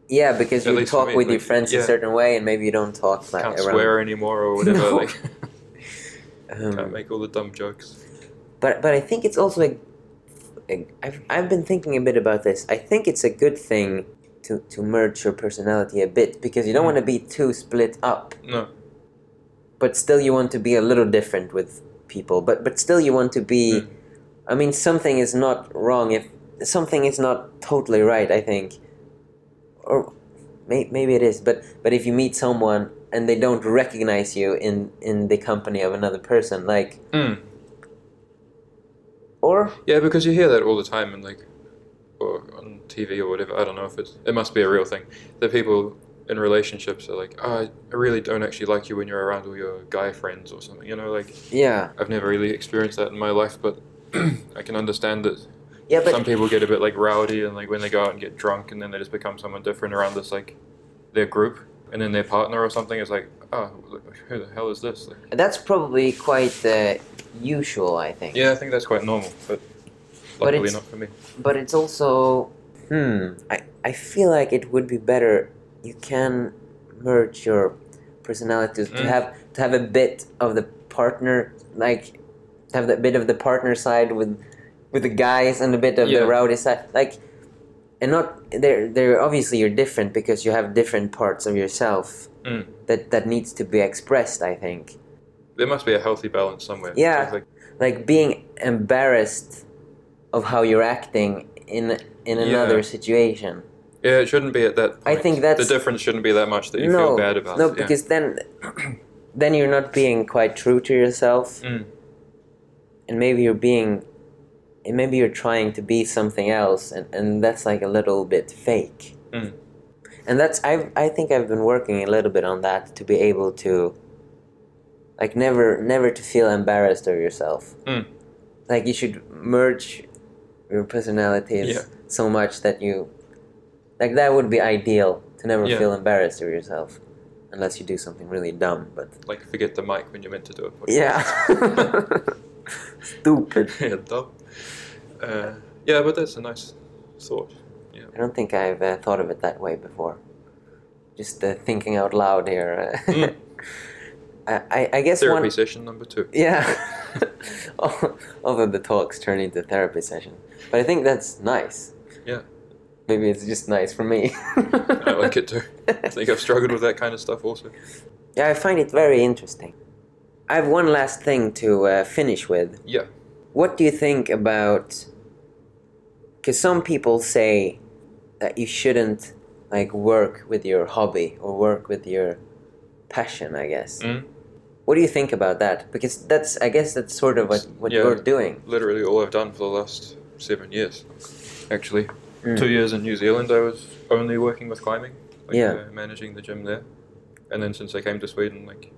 Yeah, because At you least for talk me, with like, your friends yeah. a certain way, and maybe you don't talk like Can't around. swear anymore or whatever. No. Like, can't Um, make all the dumb jokes. but but I think it's also like, like I've I've been thinking a bit about this. I think it's a good thing to to merge your personality a bit because you don't Mm. want to be too split up, No. but still you want to be a little different with people. But but still you want to be. Mm. I mean, something is not wrong if something is not totally right. I think, or may, maybe it is. But but if you meet someone and they don't recognize you in in the company of another person, like, Mm. or Yeah, because you hear that all the time, and like, or on T V or whatever. I don't know if it's. It must be a real thing. That people in relationships are like, oh, I really don't actually like you when you're around all your guy friends or something. You know, like, yeah, I've never really experienced that in my life, but I can understand that yeah, but some people get a bit like rowdy and like when they go out and get drunk and then they just become someone different around this like their group, and then their partner or something is like, oh, who the hell is this? Like, that's probably quite uh, usual, I think. yeah, I think that's quite normal, but But luckily it's- not for me. But it's also, hmm, I, I feel like it would be better. You can merge your personalities to Mm. have to have a bit of the partner, like to have a bit of the partner side with with the guys and a bit of Yeah. the rowdy side, like, and not they're they're obviously you're different because you have different parts of yourself Mm. that that needs to be expressed. I think, There must be a healthy balance somewhere. Yeah. It's like, like being embarrassed of how you're acting in in Yeah. another situation. yeah, it shouldn't be at that point. I think that's- the difference shouldn't be that much that you no, feel bad about no, it. Yeah. because then, then you're not being quite true to yourself, Mm. and maybe you're being, and maybe you're trying to be something else, and, and that's like a little bit fake. Mm. And that's I I think I've been working a little bit on that to be able to, like, never never to feel embarrassed of yourself. Mm. Like you should merge your personalities Yeah. so much that you, like, that would be ideal to never Yeah. feel embarrassed of yourself, unless you do something really dumb. But Like forget the mic when you're meant to do it. yeah, stupid. yeah, dumb. Uh, yeah, but that's a nice thought. I don't think I've uh, thought of it that way before. Just uh, thinking out loud here. Uh, Mm. I, I, I guess Therapy one. session number two. Yeah. All of the talks turn into therapy session, but I think that's nice. Yeah. Maybe it's just nice for me. I like it too. I think I've struggled with that kind of stuff also. Yeah, I find it very interesting. I have one last thing to uh, finish with. Yeah. What do you think about? Because some people say that you shouldn't, like, work with your hobby or work with your passion, I guess. Mm. What do you think about that? Because that's, I guess that's sort of what, what Yeah. you're doing. Literally all I've done for the last seven years. Actually, Mm. two years in New Zealand, I was only working with climbing, like, Yeah. uh, managing the gym there. And then since I came to Sweden, like,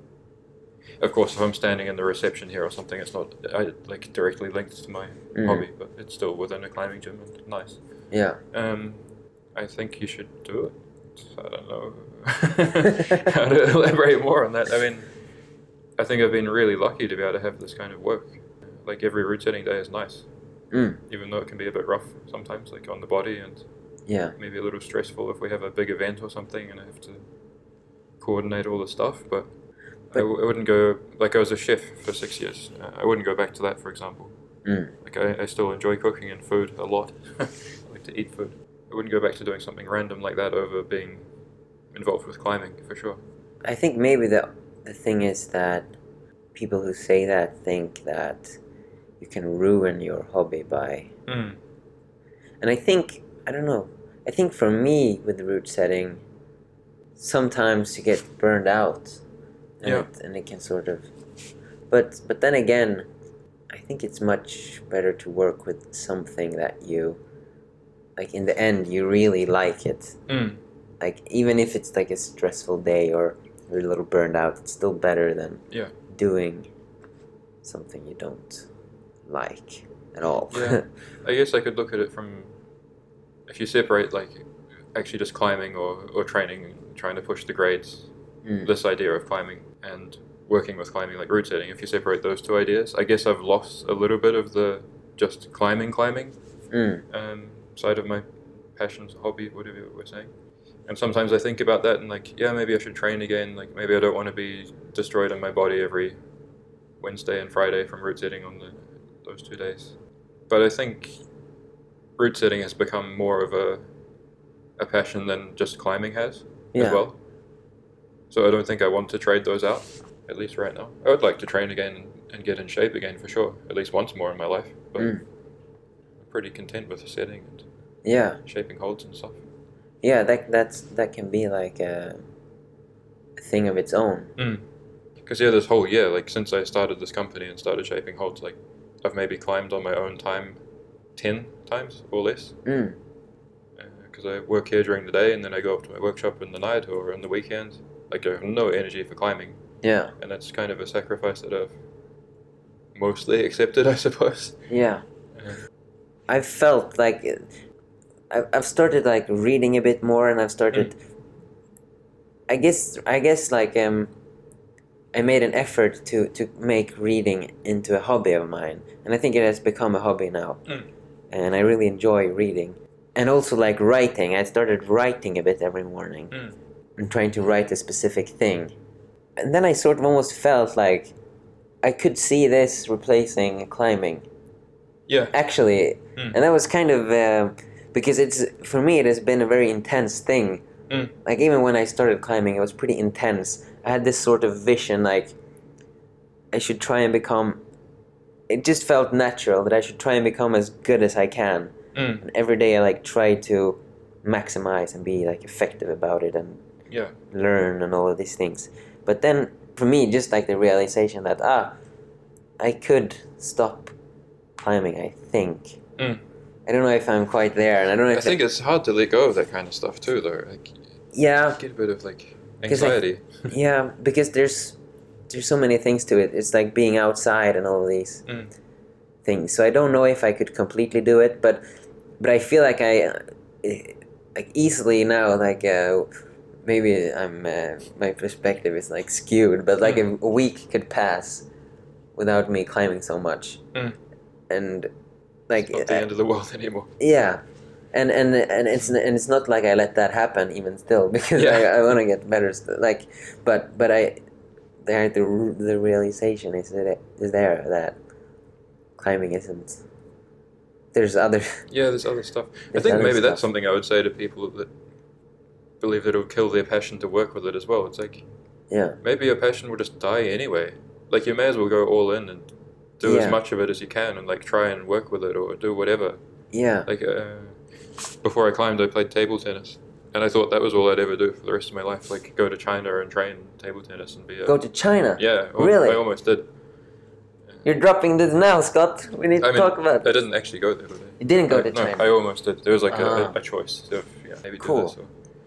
of course, if I'm standing in the reception here or something, it's not I, like directly linked to my Mm. hobby, but it's still within a climbing gym and nice. Yeah. Um, I think you should do it. I don't know how to elaborate more on that. I mean, I think I've been really lucky to be able to have this kind of work. Like every route setting day is nice, Mm. even though it can be a bit rough sometimes, like on the body, and Yeah. maybe a little stressful if we have a big event or something and I have to coordinate all the stuff. But, I, w- I wouldn't go, like I was a chef for six years. Uh, I wouldn't go back to that, for example. Mm. Like I, I still enjoy cooking and food a lot. I like to eat food. I wouldn't go back to doing something random like that over being involved with climbing, for sure. I think maybe the the thing is that people who say that think that you can ruin your hobby by, Mm. and I think, I don't know, I think for me with the route setting, sometimes you get burned out, and, Yeah. it, and it can sort of, but but then again, I think it's much better to work with something that you, like, in the end you really like it. Mm. Like, even if it's like a stressful day or you're a little burned out, it's still better than Yeah. doing something you don't like at all. Yeah. I guess I could look at it from, if you separate like actually just climbing or, or training and trying to push the grades, Mm. this idea of climbing and working with climbing, like route setting, if you separate those two ideas, I guess I've lost a little bit of the just climbing, climbing Mm. um, side of my passions, hobby, whatever we're saying. And sometimes I think about that and like, yeah, maybe I should train again. Like maybe I don't want to be destroyed in my body every Wednesday and Friday from route setting on the, those two days. But I think route setting has become more of a a passion than just climbing has Yeah. as well. So I don't think I want to trade those out, at least right now. I would like to train again and, and get in shape again for sure, at least once more in my life. But Mm. I'm pretty content with setting and Yeah. shaping holds and stuff. Yeah, that that's that can be like a, a thing of its own. Because yeah, this whole year, like since I started this company and started shaping holds, like I've maybe climbed on my own time ten times or less. Mm. Because I work here during the day and then I go up to my workshop in the night or on the weekends. Like I have no energy for climbing, Yeah. and that's kind of a sacrifice that I've mostly accepted, I suppose. Yeah. Uh, I've felt like I've I've started like reading a bit more, and I've started. I guess I guess like um, I made an effort to to make reading into a hobby of mine, and I think it has become a hobby now, Mm. and I really enjoy reading, and also like writing. I started writing a bit every morning, Mm. and trying to write a specific thing, and then I sort of almost felt like I could see this replacing climbing. yeah. Actually, Mm. and that was kind of uh, because it's for me it has been a very intense thing. Mm. Like even when I started climbing, it was pretty intense. I had this sort of vision, like I should try and become. It just felt natural that I should try and become as good as I can. Mm. And every day I like try to maximize and be like effective about it and Yeah. learn and all of these things. But then for me, just like the realization that ah, I could stop climbing. I think. Mm. I don't know if I'm quite there, and I don't know if I think it's hard to let go of that kind of stuff too, though. Like, yeah, get a bit of like 'Cause I- anxiety. yeah, because there's there's so many things to it. It's like being outside and all of these Mm. things. So I don't know if I could completely do it, but but I feel like I uh, like easily now like uh, maybe I'm uh, my perspective is like skewed, but like Mm. a, a week could pass without me climbing so much, Mm. and like It's not the I- end of the world anymore. yeah. And, and and it's and it's not like I let that happen even still because Yeah. I, I want to get better st- like but but I there the the realization is that it, is there that climbing isn't there's other Yeah, there's other stuff. I There's think other maybe stuff. that's something I would say to people that believe that it will kill their passion to work with it as well. It's like yeah maybe your passion will just die anyway. Like you may as well go all in and do Yeah. as much of it as you can and like try and work with it or do whatever. yeah Like uh, before I climbed, I played table tennis, and I thought that was all I'd ever do for the rest of my life. Like go to China and train table tennis and be a go to China. yeah. al- Really? I almost did. You're dropping this now, Scott. We need to I mean, talk about I didn't actually go there. But I, You didn't go I- to no, China. I almost did. There was like Ah. a, a choice of yeah, maybe Cool. do this. Or,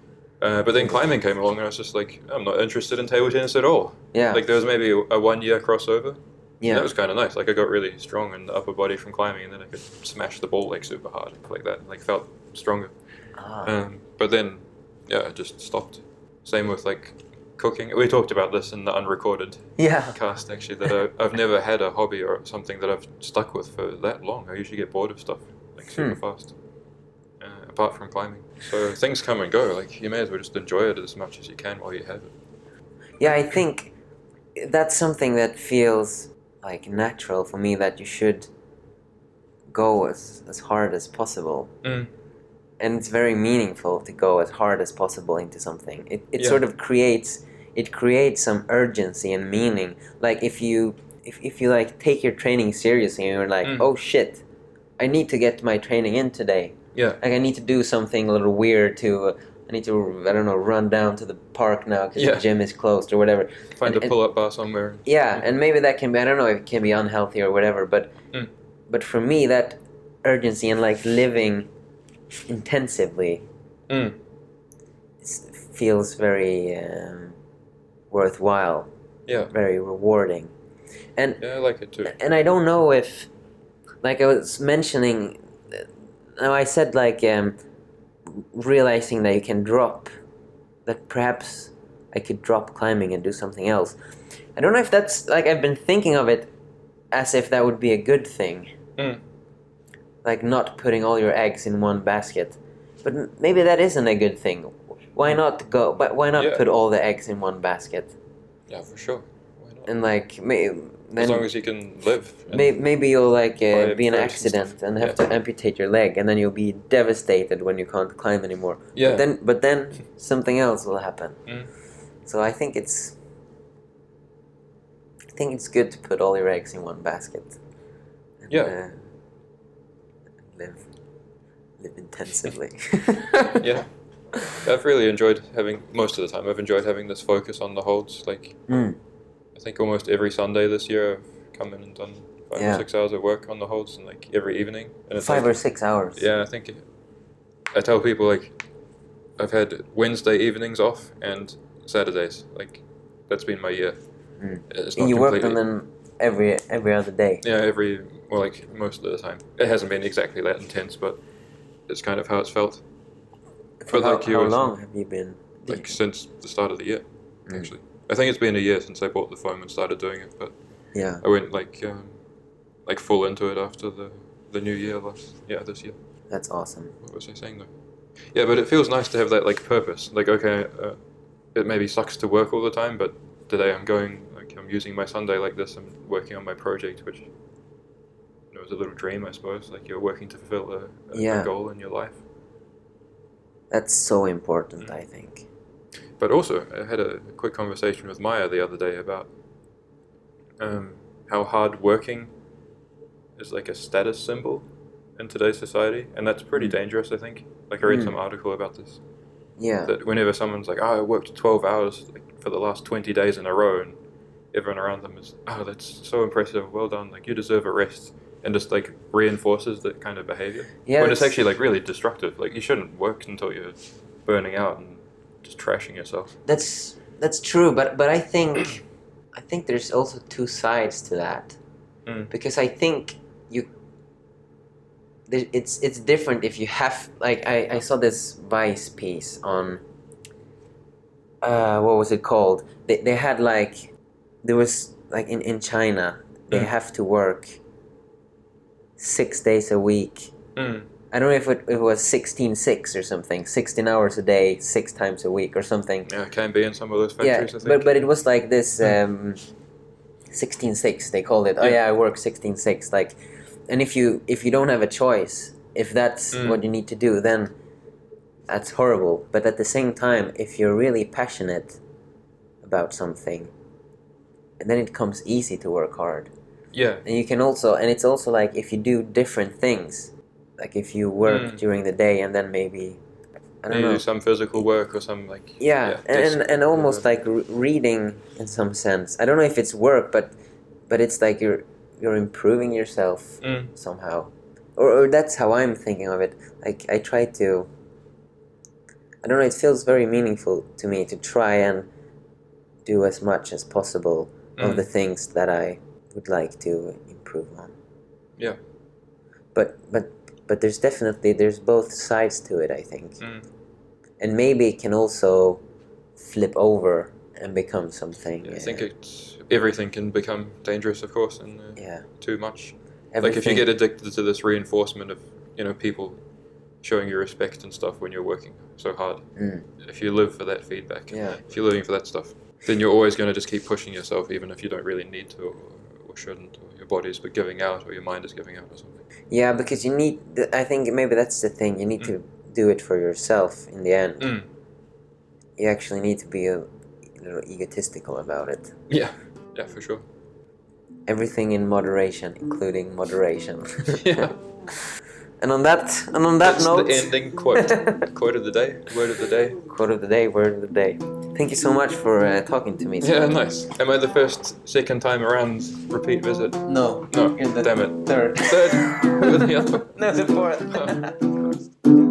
uh, but then climbing came along, and I was just like, I'm not interested in table tennis at all. yeah Like there was maybe a, a one year crossover. yeah That was kind of nice. Like I got really strong in the upper body from climbing, and then I could smash the ball like super hard, like that. Like felt stronger. ah, Um, but then, yeah, I just stopped. Same with like cooking. We talked about this in the unrecorded yeah cast actually. That I, I've never had a hobby or something that I've stuck with for that long. I usually get bored of stuff like super Hmm. fast. Uh, apart from climbing, so things come and go. Like you may as well just enjoy it as much as you can while you have it. Yeah, I think that's something that feels like natural for me, that you should go as, as hard as possible. Mm. And it's very meaningful to go as hard as possible into something. It, it Yeah. sort of creates it creates some urgency and meaning. Like if you if, if you like take your training seriously and you're like, Mm. oh shit, I need to get my training in today. Yeah. Like I need to do something a little weird to uh, I need to I don't know run down to the park now because Yeah. the gym is closed or whatever. Find And- a pull-up bar somewhere. Yeah, and maybe that can be, I don't know if it can be unhealthy or whatever, but Mm. but for me that urgency and like living intensively Mm. s- feels very um, worthwhile, Yeah. very rewarding. And Yeah, I like it too. and I don't know if, like I was mentioning, uh, now I said like um, realizing that you can drop, that perhaps I could drop climbing and do something else. I don't know if that's, like I've been thinking of it as if that would be a good thing. Mm. Like not putting all your eggs in one basket. But m- maybe that isn't a good thing. why not go? But why not Yeah. put all the eggs in one basket? Yeah, for sure. Why not? And like, may, then As long as you can live. and- may, maybe you'll like uh, buy be in an fruits and accident stuff. and have Yeah. to amputate your leg, and then you'll be devastated when you can't climb anymore. Yeah. But then, but then something else will happen. Mm. So I think it's, I think it's good to put all your eggs in one basket. And, Yeah. Uh, live, live intensively. Yeah. I've really enjoyed having, most of the time, I've enjoyed having this focus on the holds. Like, Mm. I think almost every Sunday this year I've come in and done five Yeah. or six hours of work on the holds, and like every evening. And it's Five like, or six hours. Yeah, I think it, I tell people like I've had Wednesday evenings off and Saturdays. Like that's been my year. Mm. It's And not you worked completely. on them every every other day. Yeah, every well, like most of the time. It hasn't been exactly that intense, but it's kind of how it's felt. For But how, like you how were long have you been? Like since the start of the year, Mm. actually. I think it's been a year since I bought the foam and started doing it, but Yeah. I went like um, like full into it after the the new year last yeah this year. That's awesome. What was I saying though? Yeah, but it feels nice to have that like purpose. Like okay, uh, it maybe sucks to work all the time, but today I'm going like I'm using my Sunday like this. I'm working on my project, which you know is a little dream, I suppose. Like you're working to fulfill a, a, Yeah. a goal in your life. That's so important, Mm. I think. But also, I had a quick conversation with Maya the other day about um, how hard working is like a status symbol in today's society, and that's pretty Mm. dangerous, I think. Like I read Mm. some article about this. Yeah. That whenever someone's like, "Oh, I worked twelve hours like, for the last twenty days in a row," and everyone around them is, "Oh, that's so impressive, well done, like you deserve a rest," and just like reinforces that kind of behavior. Yeah. when it's that's- actually like really destructive. Like you shouldn't work until you're burning out and just trashing yourself. That's that's true, but but I think I think there's also two sides to that, Mm. because I think you there- it's it's different if you have like I, I saw this Vice piece on uh what was it called? They they had like there was like in in China they Mm. have to work six days a week. Mm. I don't know if it, if it was sixteen six or something, sixteen hours a day, six times a week or something. Yeah, it can be in some of those Yeah, factories, I think. but but it was like this um, sixteen six they called it. Oh Yeah. yeah, I work sixteen six. Like, and if you if you don't have a choice, if that's Mm. what you need to do, then that's horrible. But at the same time, if you're really passionate about something, then it comes easy to work hard. Yeah, And you can also, and it's also like if you do different things, like if you work Mm. during the day and then maybe I don't you know. do some physical work or some like Yeah, desk and and almost work. like re- reading in some sense. I don't know if it's work, but but it's like you're you're improving yourself Mm. somehow, or or that's how I'm thinking of it. Like I try to. I don't know. It feels very meaningful to me to try and do as much as possible Mm. of the things that I would like to improve on. Yeah. But but but there's definitely there's both sides to it, I think. Mm. And maybe it can also flip over and become something. Yeah, I think uh, it's everything can become dangerous, of course, and uh, yeah. too much. Everything. Like if you get addicted to this reinforcement of you know people showing you respect and stuff when you're working so hard. Mm. If you live for that feedback, Yeah. if you're living for that stuff, then you're always going to just keep pushing yourself, even if you don't really need to or, or shouldn't, or your body's but giving out or your mind is giving out or something. Yeah, because you need. th- I think maybe that's the thing. You need Mm. to do it for yourself in the end. Mm. You actually need to be a, a little egotistical about it. Yeah, yeah, for sure. Everything in moderation, including moderation. Yeah. And on that, and on that That's note, the ending quote. Quote of the day. Word of the day. quote of the day, word of the day. Thank you so much for uh, talking to me. Yeah, nice. Am I the first, second time around repeat visit? No. No, You're the damn it. Third. Third. Who were the other? No, the fourth. Oh, of course.